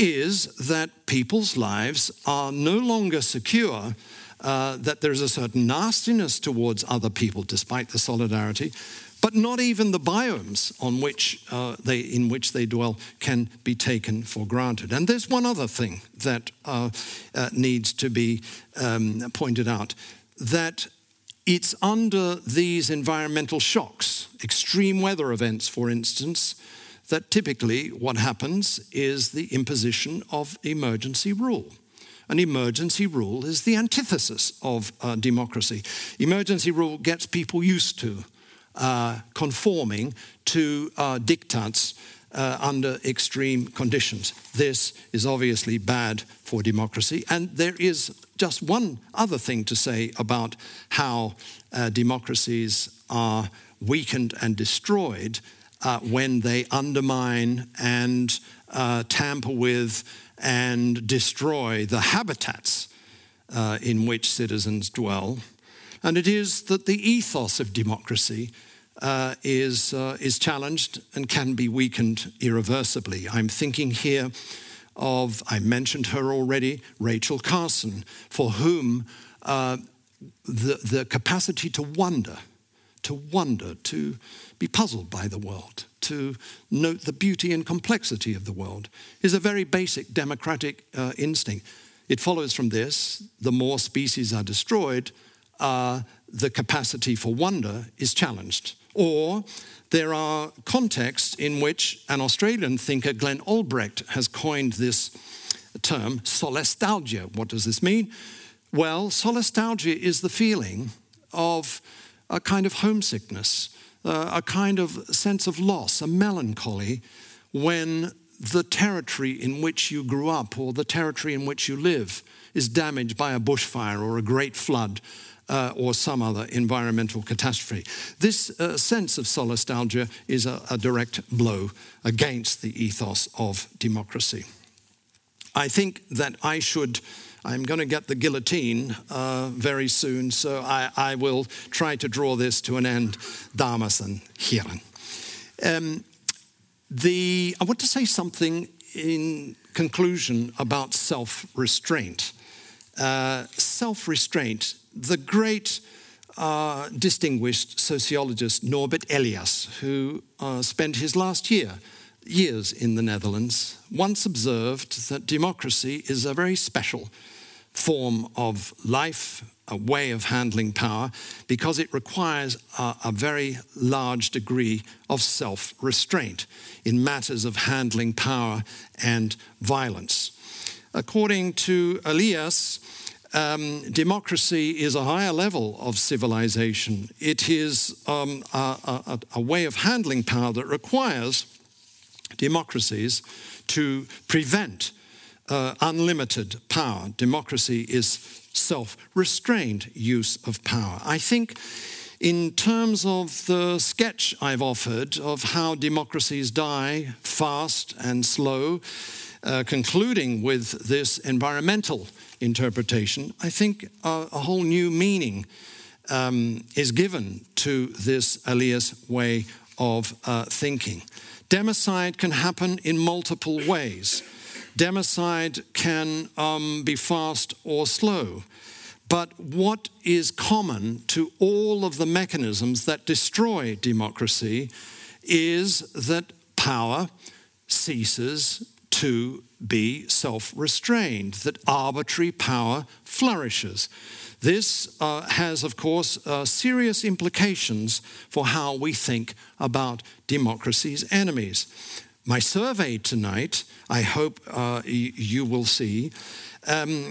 is that people's lives are no longer secure, uh, that there's a certain nastiness towards other people, despite the solidarity, but not even the biomes on which uh, they, in which they dwell can be taken for granted. And there's one other thing that uh, uh, needs to be um, pointed out, that it's under these environmental shocks, extreme weather events, for instance, that typically what happens is the imposition of emergency rule. An emergency rule is the antithesis of uh, democracy. Emergency rule gets people used to uh, conforming to uh, diktats uh, under extreme conditions. This is obviously bad for democracy. And there is just one other thing to say about how uh, democracies are weakened and destroyed uh, when they undermine and uh, tamper with and destroy the habitats uh, in which citizens dwell. And it is that the ethos of democracy uh, is, uh, is challenged and can be weakened irreversibly. I'm thinking here of, I mentioned her already, Rachel Carson, for whom uh, the, the capacity to wonder, to wonder, to be puzzled by the world, to note the beauty and complexity of the world, is a very basic democratic uh, instinct. It follows from this, the more species are destroyed, uh, the capacity for wonder is challenged. Or there are contexts in which an Australian thinker, Glenn Albrecht, has coined this term, solastalgia. What does this mean? Well, solastalgia is the feeling of a kind of homesickness, uh, a kind of sense of loss, a melancholy, when the territory in which you grew up or the territory in which you live is damaged by a bushfire or a great flood uh, or some other environmental catastrophe. This uh, sense of solastalgia is a, a direct blow against the ethos of democracy. I think that I should, I'm going to get the guillotine uh, very soon, so I, I will try to draw this to an end, dames and heren. Um, The, I want to say something in conclusion about self-restraint. Uh, self-restraint, the great uh, distinguished sociologist Norbert Elias, who uh, spent his last year, years in the Netherlands, once observed that democracy is a very special form of life, a way of handling power, because it requires a, a very large degree of self-restraint in matters of handling power and violence. According to Elias, Um, democracy is a higher level of civilization. It is um, a, a, a way of handling power that requires democracies to prevent uh, unlimited power. Democracy is self-restrained use of power. I think in terms of the sketch I've offered of how democracies die fast and slow, uh, concluding with this environmental interpretation, I think uh, a whole new meaning um, is given to this Elias way of uh, thinking. Democide can happen in multiple ways. Democide can um, be fast or slow. But what is common to all of the mechanisms that destroy democracy is that power ceases to be self-restrained, that arbitrary power flourishes. This uh, has, of course, uh, serious implications for how we think about democracy's enemies. My survey tonight, I hope uh, y- you will see, um,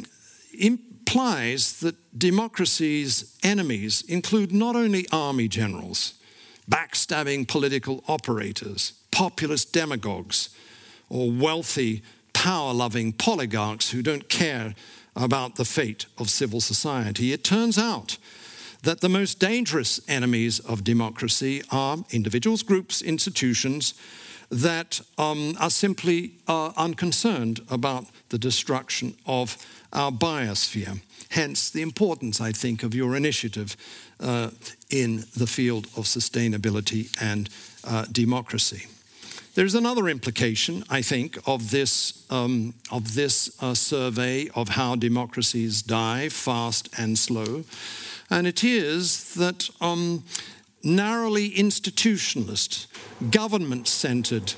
implies that democracy's enemies include not only army generals, backstabbing political operators, populist demagogues, or wealthy, power-loving oligarchs who don't care about the fate of civil society. It turns out that the most dangerous enemies of democracy are individuals, groups, institutions that um, are simply uh, unconcerned about the destruction of our biosphere. Hence the importance, I think, of your initiative uh, in the field of sustainability and uh, democracy. There's another implication, I think, of this, um, of this uh, survey of how democracies die, fast and slow, and it is that um, narrowly institutionalist, government-centered,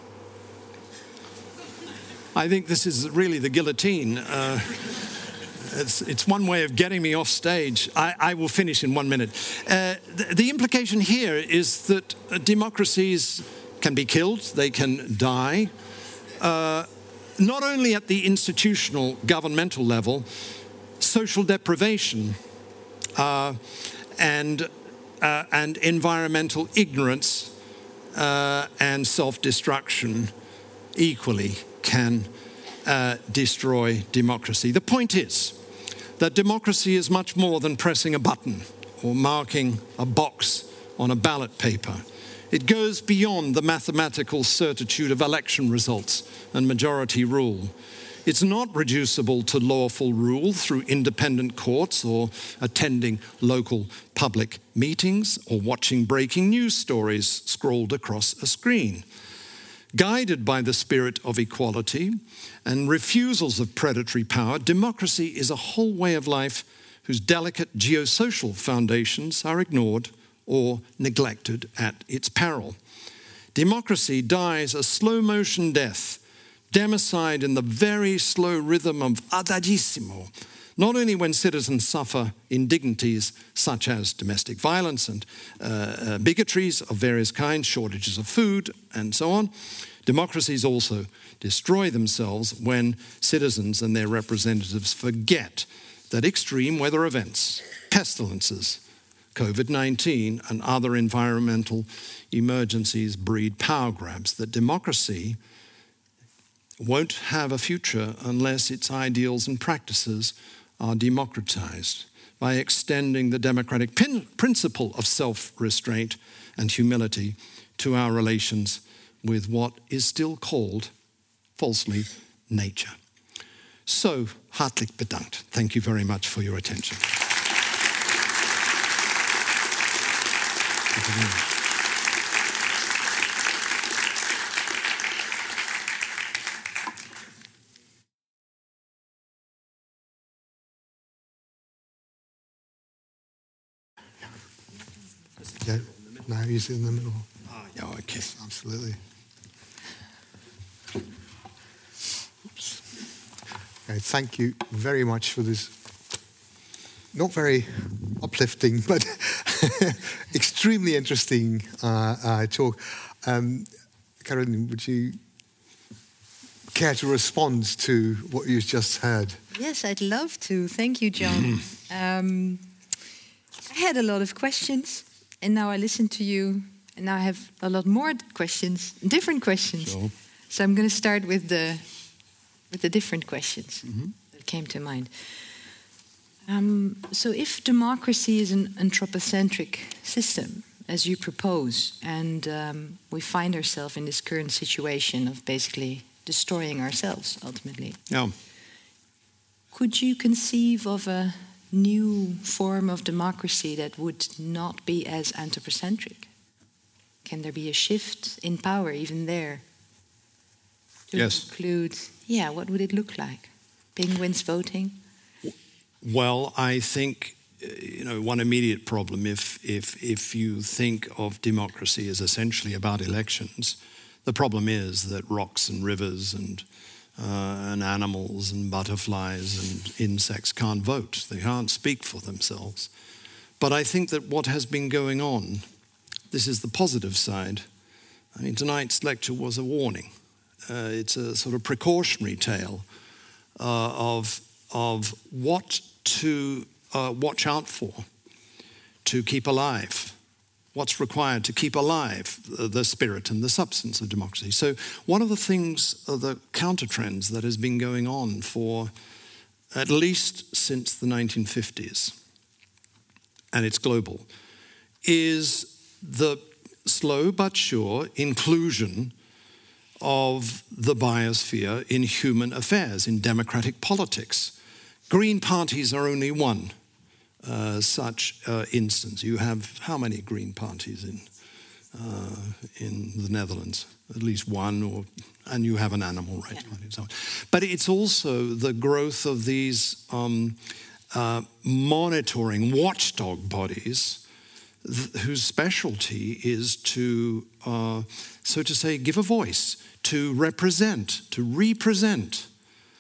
I think this is really the guillotine. Uh, it's, it's one way of getting me off stage. I, I will finish in one minute. Uh, the, the implication here is that uh, democracies can be killed, they can die, uh, not only at the institutional governmental level, social deprivation uh, and, uh, and environmental ignorance uh, and self-destruction equally can uh, destroy democracy. The point is that democracy is much more than pressing a button or marking a box on a ballot paper. It goes beyond the mathematical certitude of election results and majority rule. It's not reducible to lawful rule through independent courts or attending local public meetings or watching breaking news stories scrolled across a screen. Guided by the spirit of equality and refusals of predatory power, democracy is a whole way of life whose delicate geosocial foundations are ignored or neglected at its peril. Democracy dies a slow-motion death, democide in the very slow rhythm of adagissimo, not only when citizens suffer indignities such as domestic violence and uh, uh, bigotries of various kinds, shortages of food, and so on. Democracies also destroy themselves when citizens and their representatives forget that extreme weather events, pestilences, COVID nineteen and other environmental emergencies breed power grabs, that democracy won't have a future unless its ideals and practices are democratized by extending the democratic pin- principle of self-restraint and humility to our relations with what is still called, falsely, nature. So, hartelijk bedankt. Thank you very much for your attention.
Yeah, no, he's in the middle.
Ah, yeah, okay.
Absolutely. Oops. Okay, thank you very much for this not very uplifting, but extremely interesting uh, uh, talk. Um, Karen, would you care to respond to what you've just heard?
Yes, I'd love to. Thank you, John. um, I had a lot of questions, and now I listen to you, and now I have a lot more questions, different questions.
Sure.
So I'm going to start with the with the different questions
Mm-hmm.
that came to mind. Um, so if democracy is an anthropocentric system, as you propose, and um, we find ourselves in this current situation of basically destroying ourselves, ultimately,
Yeah.
could you conceive of a new form of democracy that would not be as anthropocentric? Can there be a shift in power even there? To
Yes.
include, yeah, what would it look like? Penguins voting?
Well, I think, uh, you know, one immediate problem, if, if, if you think of democracy as essentially about elections, the problem is that rocks and rivers and, uh, and animals and butterflies and insects can't vote. They can't speak for themselves. But I think that what has been going on, this is the positive side. I mean, tonight's lecture was a warning. Uh, it's a sort of precautionary tale uh, of, of what to uh, watch out for, to keep alive, what's required to keep alive the, the spirit and the substance of democracy. So one of the things, uh, the counter-trends that has been going on for at least since the nineteen fifties, and it's global, is the slow but sure inclusion of the biosphere in human affairs, in democratic politics. Green parties are only one uh, such uh, instance. You have how many green parties in uh, in the Netherlands? At least one, or and you have an animal rights party and so on. But it's also the growth of these um, uh, monitoring watchdog bodies th- whose specialty is to, uh, so to say, give a voice, to represent, to represent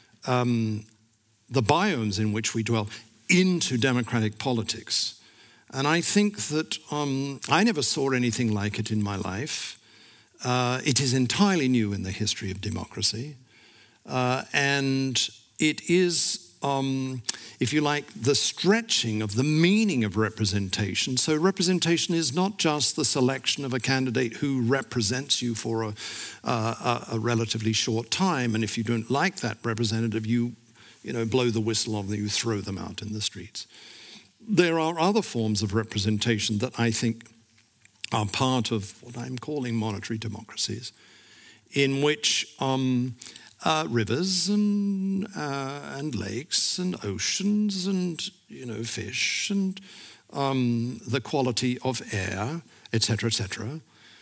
um, the biomes in which we dwell into democratic politics. And I think that um, I never saw anything like it in my life. Uh, it is entirely new in the history of democracy. Uh, and it is, um, if you like, the stretching of the meaning of representation. So representation is not just the selection of a candidate who represents you for a, uh, a, a relatively short time. And if you don't like that representative, you you know, blow the whistle on them, you throw them out in the streets. There are other forms of representation that I think are part of what I'm calling monitory democracies, in which um, uh, rivers and uh, and lakes and oceans and you know fish and um, the quality of air, et cetera, et cetera,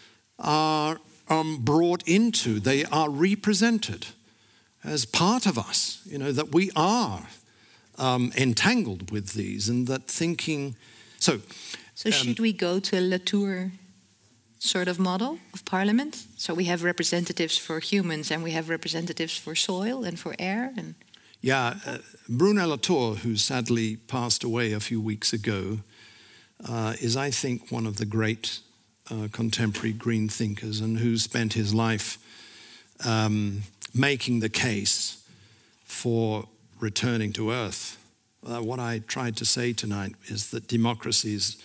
are um, brought into. They are represented as part of us, you know, that we are um, entangled with these, and that thinking. So,
So
um,
should we go to a Latour sort of model of parliament? So we have representatives for humans, and we have representatives for soil and for air. And
yeah, uh, Bruno Latour, who sadly passed away a few weeks ago, uh, is, I think, one of the great uh, contemporary green thinkers, and who spent his life um, making the case for returning to earth. Uh, what I tried to say tonight is that democracies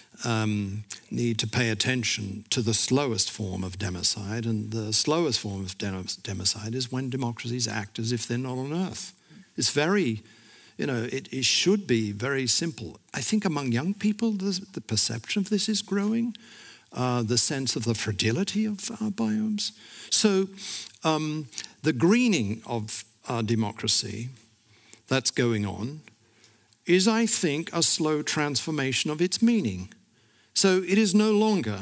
um, need to pay attention to the slowest form of democide, and the slowest form of dem- democide is when democracies act as if they're not on earth. It's very, you know, it, it should be very simple. I think among young people, the perception of this is growing, uh, the sense of the fragility of our biomes. So um, the greening of our democracy that's going on is, I think, a slow transformation of its meaning. So it is no longer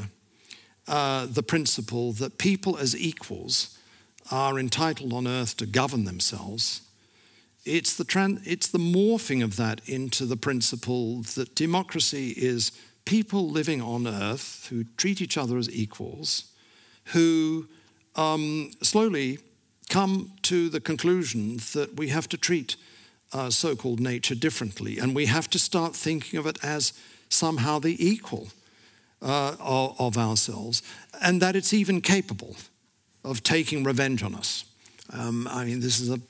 uh, the principle that people as equals are entitled on earth to govern themselves. It's the, tran- it's the morphing of that into the principle that democracy is people living on earth who treat each other as equals, who um, slowly come to the conclusion that we have to treat uh, so-called nature differently, and we have to start thinking of it as somehow the equal uh, of, of ourselves, and that it's even capable of taking revenge on us. Um, I mean, this is a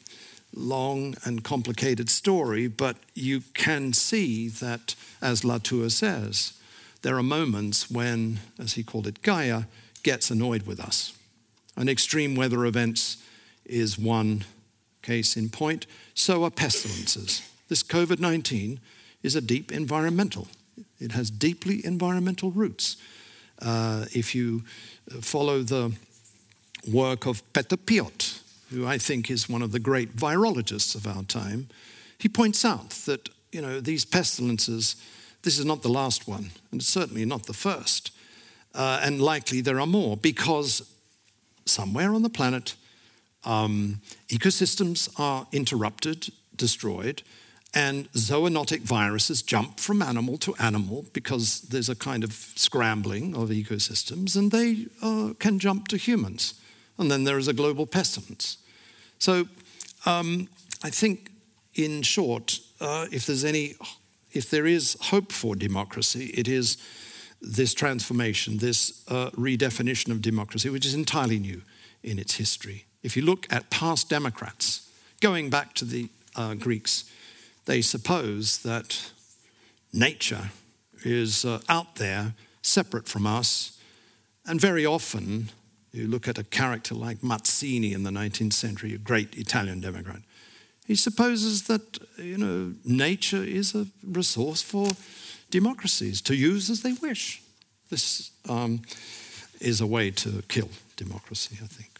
long and complicated story, but you can see that, as Latour says, there are moments when, as he called it, Gaia gets annoyed with us. And extreme weather events is one case in point. So are pestilences. This COVID nineteen is a deep environmental. It has deeply environmental roots. Uh, if you follow the work of Peter Piot, who I think is one of the great virologists of our time, he points out that, you know, these pestilences, this is not the last one, and it's certainly not the first. Uh, and likely there are more, because somewhere on the planet, um, ecosystems are interrupted, destroyed, and zoonotic viruses jump from animal to animal because there's a kind of scrambling of ecosystems, and they uh, can jump to humans. And then there is a global pestilence. So um, I think, in short, uh, if there's any, if there is hope for democracy, it is this transformation, this uh, redefinition of democracy, which is entirely new in its history. If you look at past democrats, going back to the uh, Greeks, they suppose that nature is uh, out there, separate from us, and very often, you look at a character like Mazzini in the nineteenth century, a great Italian democrat, he supposes that, you know, nature is a resource for democracies to use as they wish. This um, is a way to kill democracy, I think.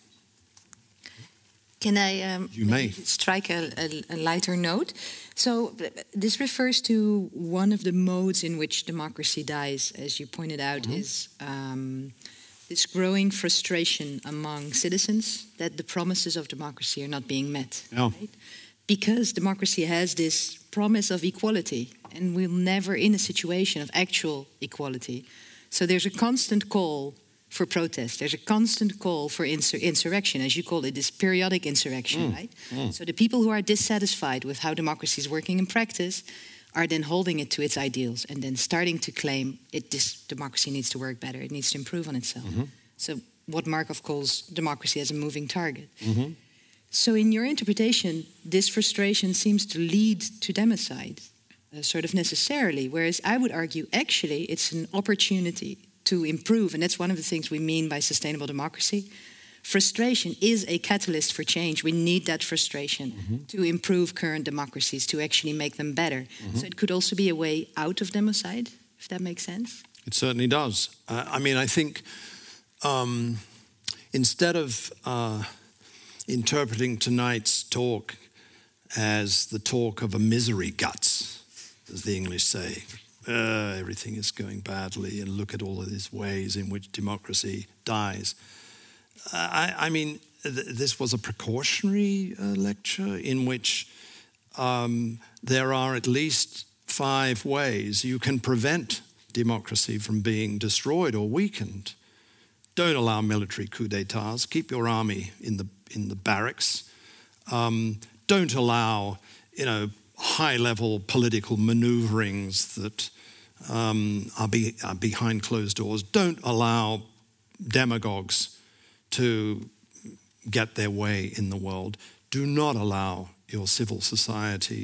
Can I um,
you may.
strike a, a, a lighter note? So this refers to one of the modes in which democracy dies, as you pointed out, mm-hmm. is um, this growing frustration among citizens that the promises of democracy are not being met.
Yeah.
Right? Because democracy has this promise of equality, and we're never in a situation of actual equality. So there's a constant call for protest. There's a constant call for insur- insurrection, as you call it, this periodic insurrection, mm. right? Mm. So the people who are dissatisfied with how democracy is working in practice are then holding it to its ideals and then starting to claim it, this democracy needs to work better, it needs to improve on itself. Mm-hmm. So what Markov calls democracy as a moving target. Mm-hmm. So in your interpretation, this frustration seems to lead to democide, uh, sort of necessarily, whereas I would argue actually it's an opportunity to improve, and that's one of the things we mean by sustainable democracy. Frustration is a catalyst for change. We need that frustration mm-hmm. to improve current democracies, to actually make them better. Mm-hmm. So it could also be a way out of democide, if that makes sense.
It certainly does. Uh, I mean, I think um, instead of uh, interpreting tonight's talk as the talk of a misery guts, as the English say, Uh, everything is going badly, and look at all of these ways in which democracy dies. Uh, I, I mean, th- this was a precautionary uh, lecture in which um, there are at least five ways you can prevent democracy from being destroyed or weakened. Don't allow military coup d'etats. Keep your army in the in the barracks. Um, don't allow, you know, high-level political maneuverings that um, are, be, are behind closed doors. Don't allow demagogues to get their way in the world. Do not allow your civil society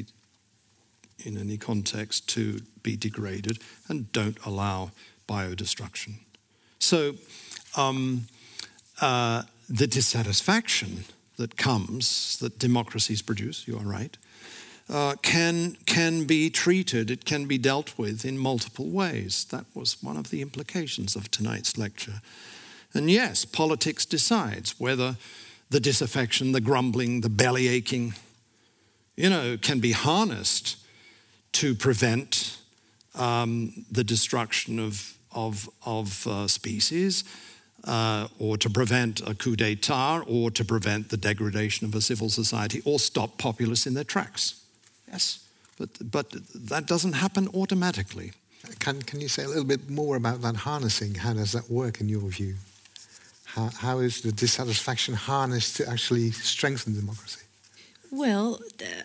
in any context to be degraded, and don't allow biodestruction. So um, uh, the dissatisfaction that comes, that democracies produce, you are right, Uh, can can be treated, it can be dealt with in multiple ways. That was one of the implications of tonight's lecture. And yes, politics decides whether the disaffection, the grumbling, the belly aching, you know, can be harnessed to prevent um, the destruction of, of, of uh, species, uh, or to prevent a coup d'etat, or to prevent the degradation of a civil society, or stop populists in their tracks. Yes, but but that doesn't happen automatically.
Can can you say a little bit more about that harnessing? How does that work in your view? How how is the dissatisfaction harnessed to actually strengthen democracy?
Well,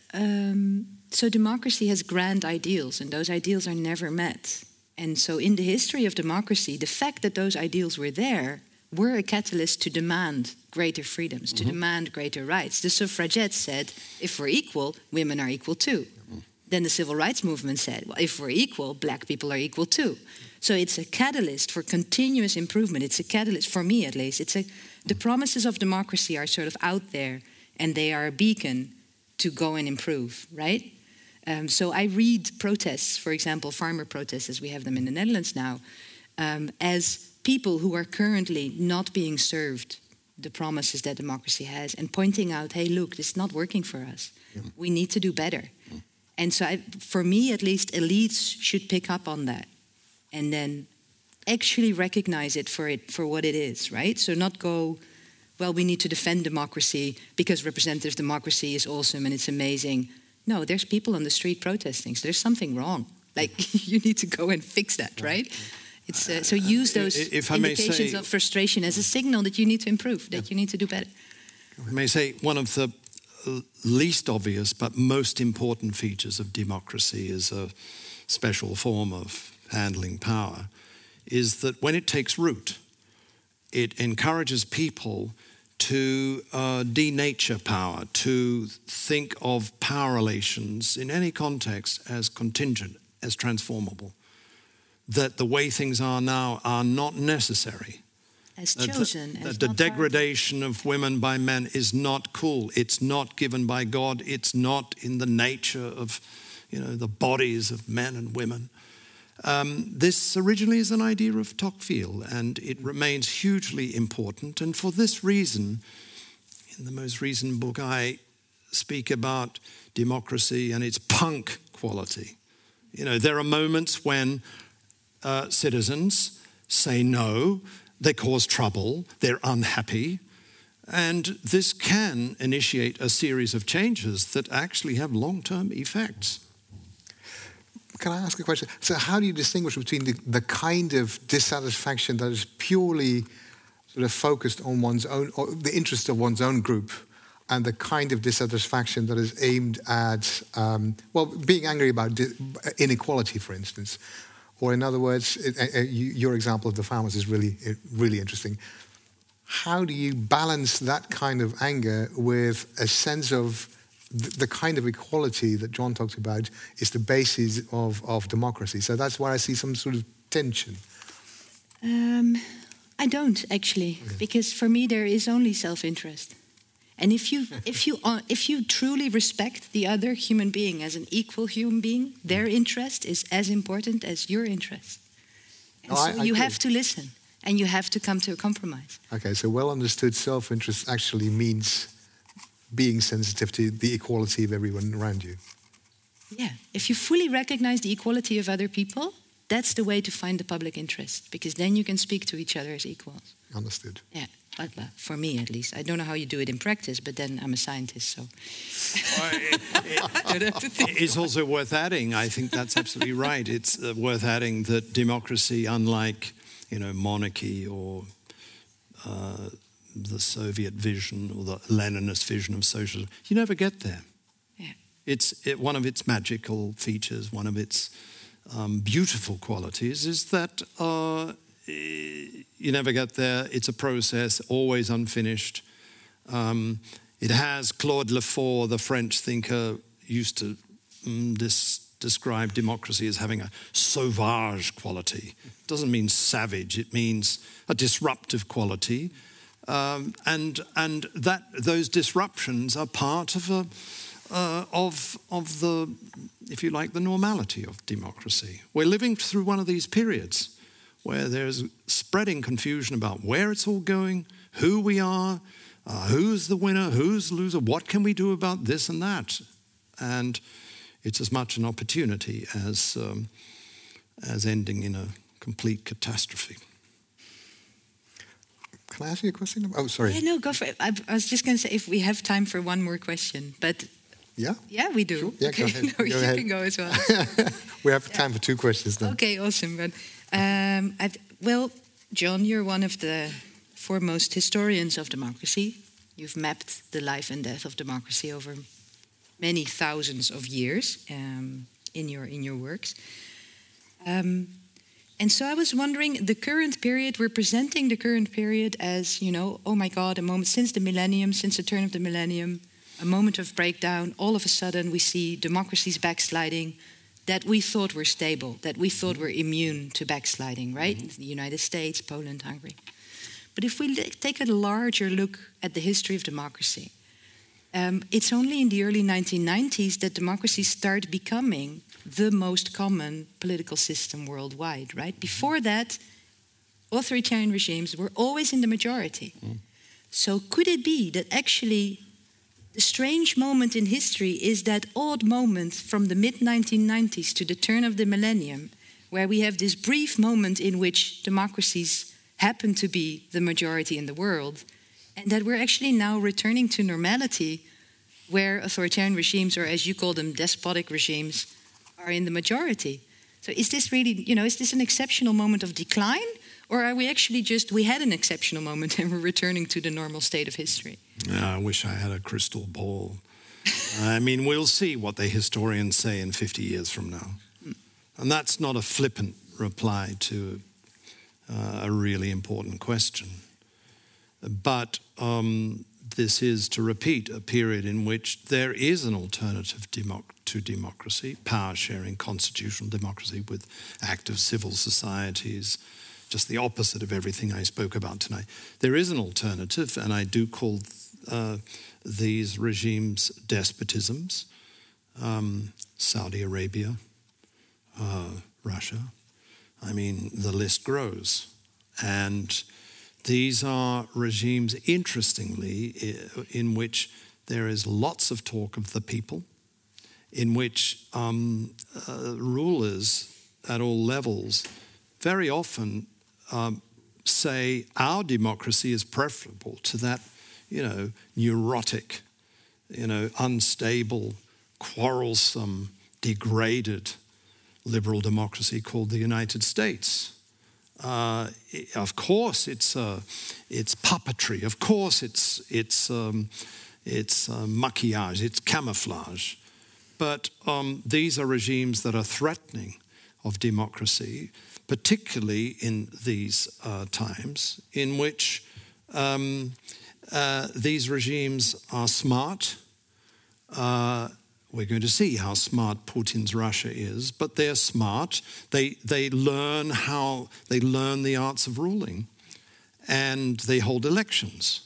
um, so democracy has grand ideals, and those ideals are never met. And so in the history of democracy, the fact that those ideals were there were a catalyst to demand greater freedoms, mm-hmm. to demand greater rights. The suffragettes said, if we're equal, women are equal too. Mm-hmm. Then the civil rights movement said, well, if we're equal, black people are equal too. So it's a catalyst for continuous improvement. It's a catalyst, for me at least. It's a, the promises of democracy are sort of out there, and they are a beacon to go and improve, right? Um, so I read protests, for example, farmer protests, as we have them in the Netherlands now, um, as people who are currently not being served the promises that democracy has, and pointing out, hey, look, this is not working for us. Yeah. We need to do better. Yeah. And so I, for me, at least, elites should pick up on that and then actually recognize it for it for what it is, right? So not go, well, we need to defend democracy because representative democracy is awesome and it's amazing. No, there's people on the street protesting, so there's something wrong. Like, you need to go and fix that, right? It's, uh, so use those if I indications say, of frustration as a signal that you need to improve, that yeah. you need to do better.
I may say one of the least obvious but most important features of democracy as a special form of handling power is that when it takes root, it encourages people to uh, denature power, to think of power relations in any context as contingent, as transformable. That the way things are now are not necessary.
As chosen.
That,
as
that the degradation of women by men is not cool. It's not given by God. It's not in the nature of, you know, the bodies of men and women. Um, this originally is an idea of Tocqueville, and it remains hugely important. And for this reason, in the most recent book, I speak about democracy and its punk quality. You know, there are moments when Uh, citizens say no, they cause trouble, they're unhappy, and this can initiate a series of changes that actually have long-term effects.
Can I ask a question? So how do you distinguish between the, the kind of dissatisfaction that is purely sort of focused on one's own, or the interest of one's own group, and the kind of dissatisfaction that is aimed at, um, well, being angry about inequality, for instance? Or in other words, it, uh, you, your example of the farmers is really, really interesting. How do you balance that kind of anger with a sense of th- the kind of equality that John talked about is the basis of, of democracy? So that's where I see some sort of tension.
Um, I don't, actually, okay. Because for me there is only self-interest. And if you, if you, uh, if you truly respect the other human being as an equal human being, their interest is as important as your interest. And
oh,
so
I, I
you
agree.
have to listen, and you have to come to a compromise.
Okay, so well understood self-interest actually means being sensitive to the equality of everyone around you.
Yeah, if you fully recognize the equality of other people, that's the way to find the public interest, because then you can speak to each other as equals.
Understood.
Yeah. But, uh, for me, at least. I don't know how you do it in practice, but then I'm a scientist, so...
Well, it, it, I don't have to think. It's also worth adding, I think that's absolutely right, it's uh, worth adding that democracy, unlike, you know, monarchy or uh, the Soviet vision or the Leninist vision of socialism, you never get there.
Yeah.
It's it, one of its magical features, one of its um, beautiful qualities is that... Uh, You never get there. It's a process, always unfinished. Um, it has, Claude Lefort, the French thinker, used to um, dis- describe democracy as having a sauvage quality. It doesn't mean savage, it means a disruptive quality. Um, and and that those disruptions are part of a uh, of of the, if you like, the normality of democracy. We're living through one of these periods where there's spreading confusion about where it's all going, who we are, uh, who's the winner, who's the loser, what can we do about this and that. And it's as much an opportunity as, um, as ending in a complete catastrophe.
Can I ask you a question? Oh, sorry.
Yeah, no, go for it. I, I was just going to say if we have time for one more question, but...
Yeah?
Yeah, we do.
Sure. Yeah,
okay.
go ahead.
No,
go
you
ahead.
can go as well.
We have time
yeah.
for two questions then.
Okay, awesome. But, um, I, well, John, you're one of the foremost historians of democracy. You've mapped the life and death of democracy over many thousands of years um, in your in your works. Um, And so I was wondering, the current period, we're presenting the current period as, you know, oh my God, a moment since the millennium, since the turn of the millennium, a moment of breakdown. All of a sudden we see democracies backsliding that we thought were stable, that we thought were immune to backsliding, right? Mm-hmm. The United States, Poland, Hungary. But if we take a larger look at the history of democracy, um, it's only in the early nineteen nineties that democracies start becoming the most common political system worldwide, right? Before that, authoritarian regimes were always in the majority. Mm. So could it be that actually the strange moment in history is that odd moment from the mid nineteen nineties to the turn of the millennium, where we have this brief moment in which democracies happen to be the majority in the world, and that we're actually now returning to normality, where authoritarian regimes, or as you call them, despotic regimes, are in the majority. So is this really, you know, is this an exceptional moment of decline? Or are we actually just, we had an exceptional moment and we're returning to the normal state of history?
Yeah, I wish I had a crystal ball. I mean, we'll see what the historians say in fifty years from now. Mm. And that's not a flippant reply to uh, a really important question. But um, this is, to repeat, a period in which there is an alternative democ- to democracy, power-sharing constitutional democracy with active civil societies, just the opposite of everything I spoke about tonight. There is an alternative, and I do call uh, these regimes despotisms. Um, Saudi Arabia, uh, Russia. I mean, the list grows. And these are regimes, interestingly, in which there is lots of talk of the people, in which um, uh, rulers at all levels very often um, say our democracy is preferable to that, you know, neurotic, you know, unstable, quarrelsome, degraded liberal democracy called the United States. Uh, of course, it's uh, it's puppetry. Of course, it's it's um, it's uh, maquillage. It's camouflage. But um, these are regimes that are threatening of democracy, particularly in these uh, times in which um, uh, these regimes are smart. Uh, We're going to see how smart Putin's Russia is, but they're smart. They they learn how they learn the arts of ruling, and they hold elections.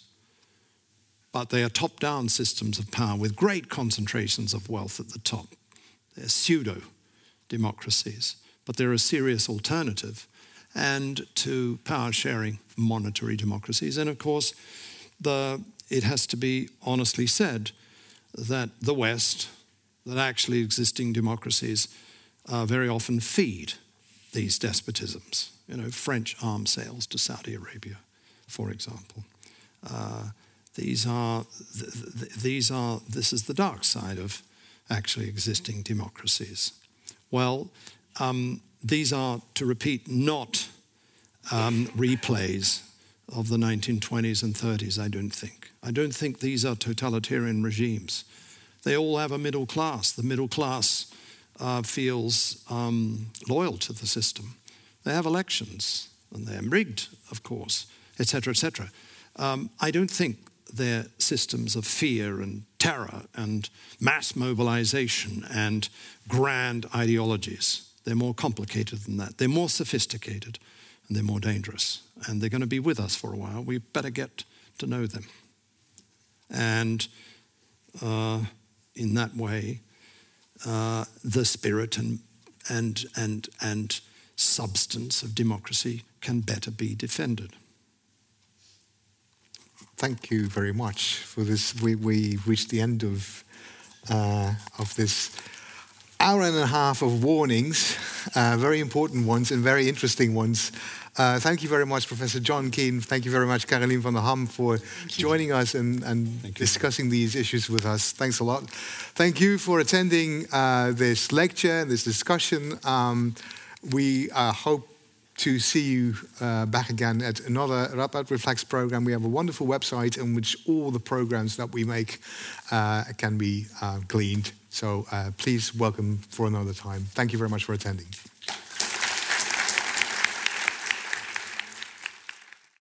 But they are top-down systems of power with great concentrations of wealth at the top. They're pseudo-democracies, but they're a serious alternative, and to power-sharing monetary democracies. And of course, the it has to be honestly said that the West, that actually existing democracies uh, very often feed these despotisms. You know, French arms sales to Saudi Arabia, for example. Uh, these are, th- th- these are, this is the dark side of actually existing democracies. Well, um, these are, to repeat, not um, replays of the nineteen twenties and thirties, I don't think. I don't think these are totalitarian regimes. They all have a middle class. The middle class uh, feels um, loyal to the system. They have elections, and they're rigged, of course, et cetera, et cetera. Um, I don't think they're systems of fear and terror and mass mobilization and grand ideologies. They're more complicated than that. They're more sophisticated, and they're more dangerous. And they're going to be with us for a while. We better get to know them. And uh, in that way, uh, the spirit and and and and substance of democracy can better be defended.
Thank you very much for this. We we reached the end of uh, of this hour and a half of warnings, uh, very important ones and very interesting ones. Uh, thank you very much, Professor John Keane. Thank you very much, Caroline van der Ham, for joining us and, and discussing these issues with us. Thanks a lot. Thank you for attending uh, this lecture, this discussion. Um, we uh, hope to see you uh, back again at another Radboud Reflects program. We have a wonderful website in which all the programs that we make uh, can be uh, gleaned. So uh, please welcome for another time. Thank you very much for attending.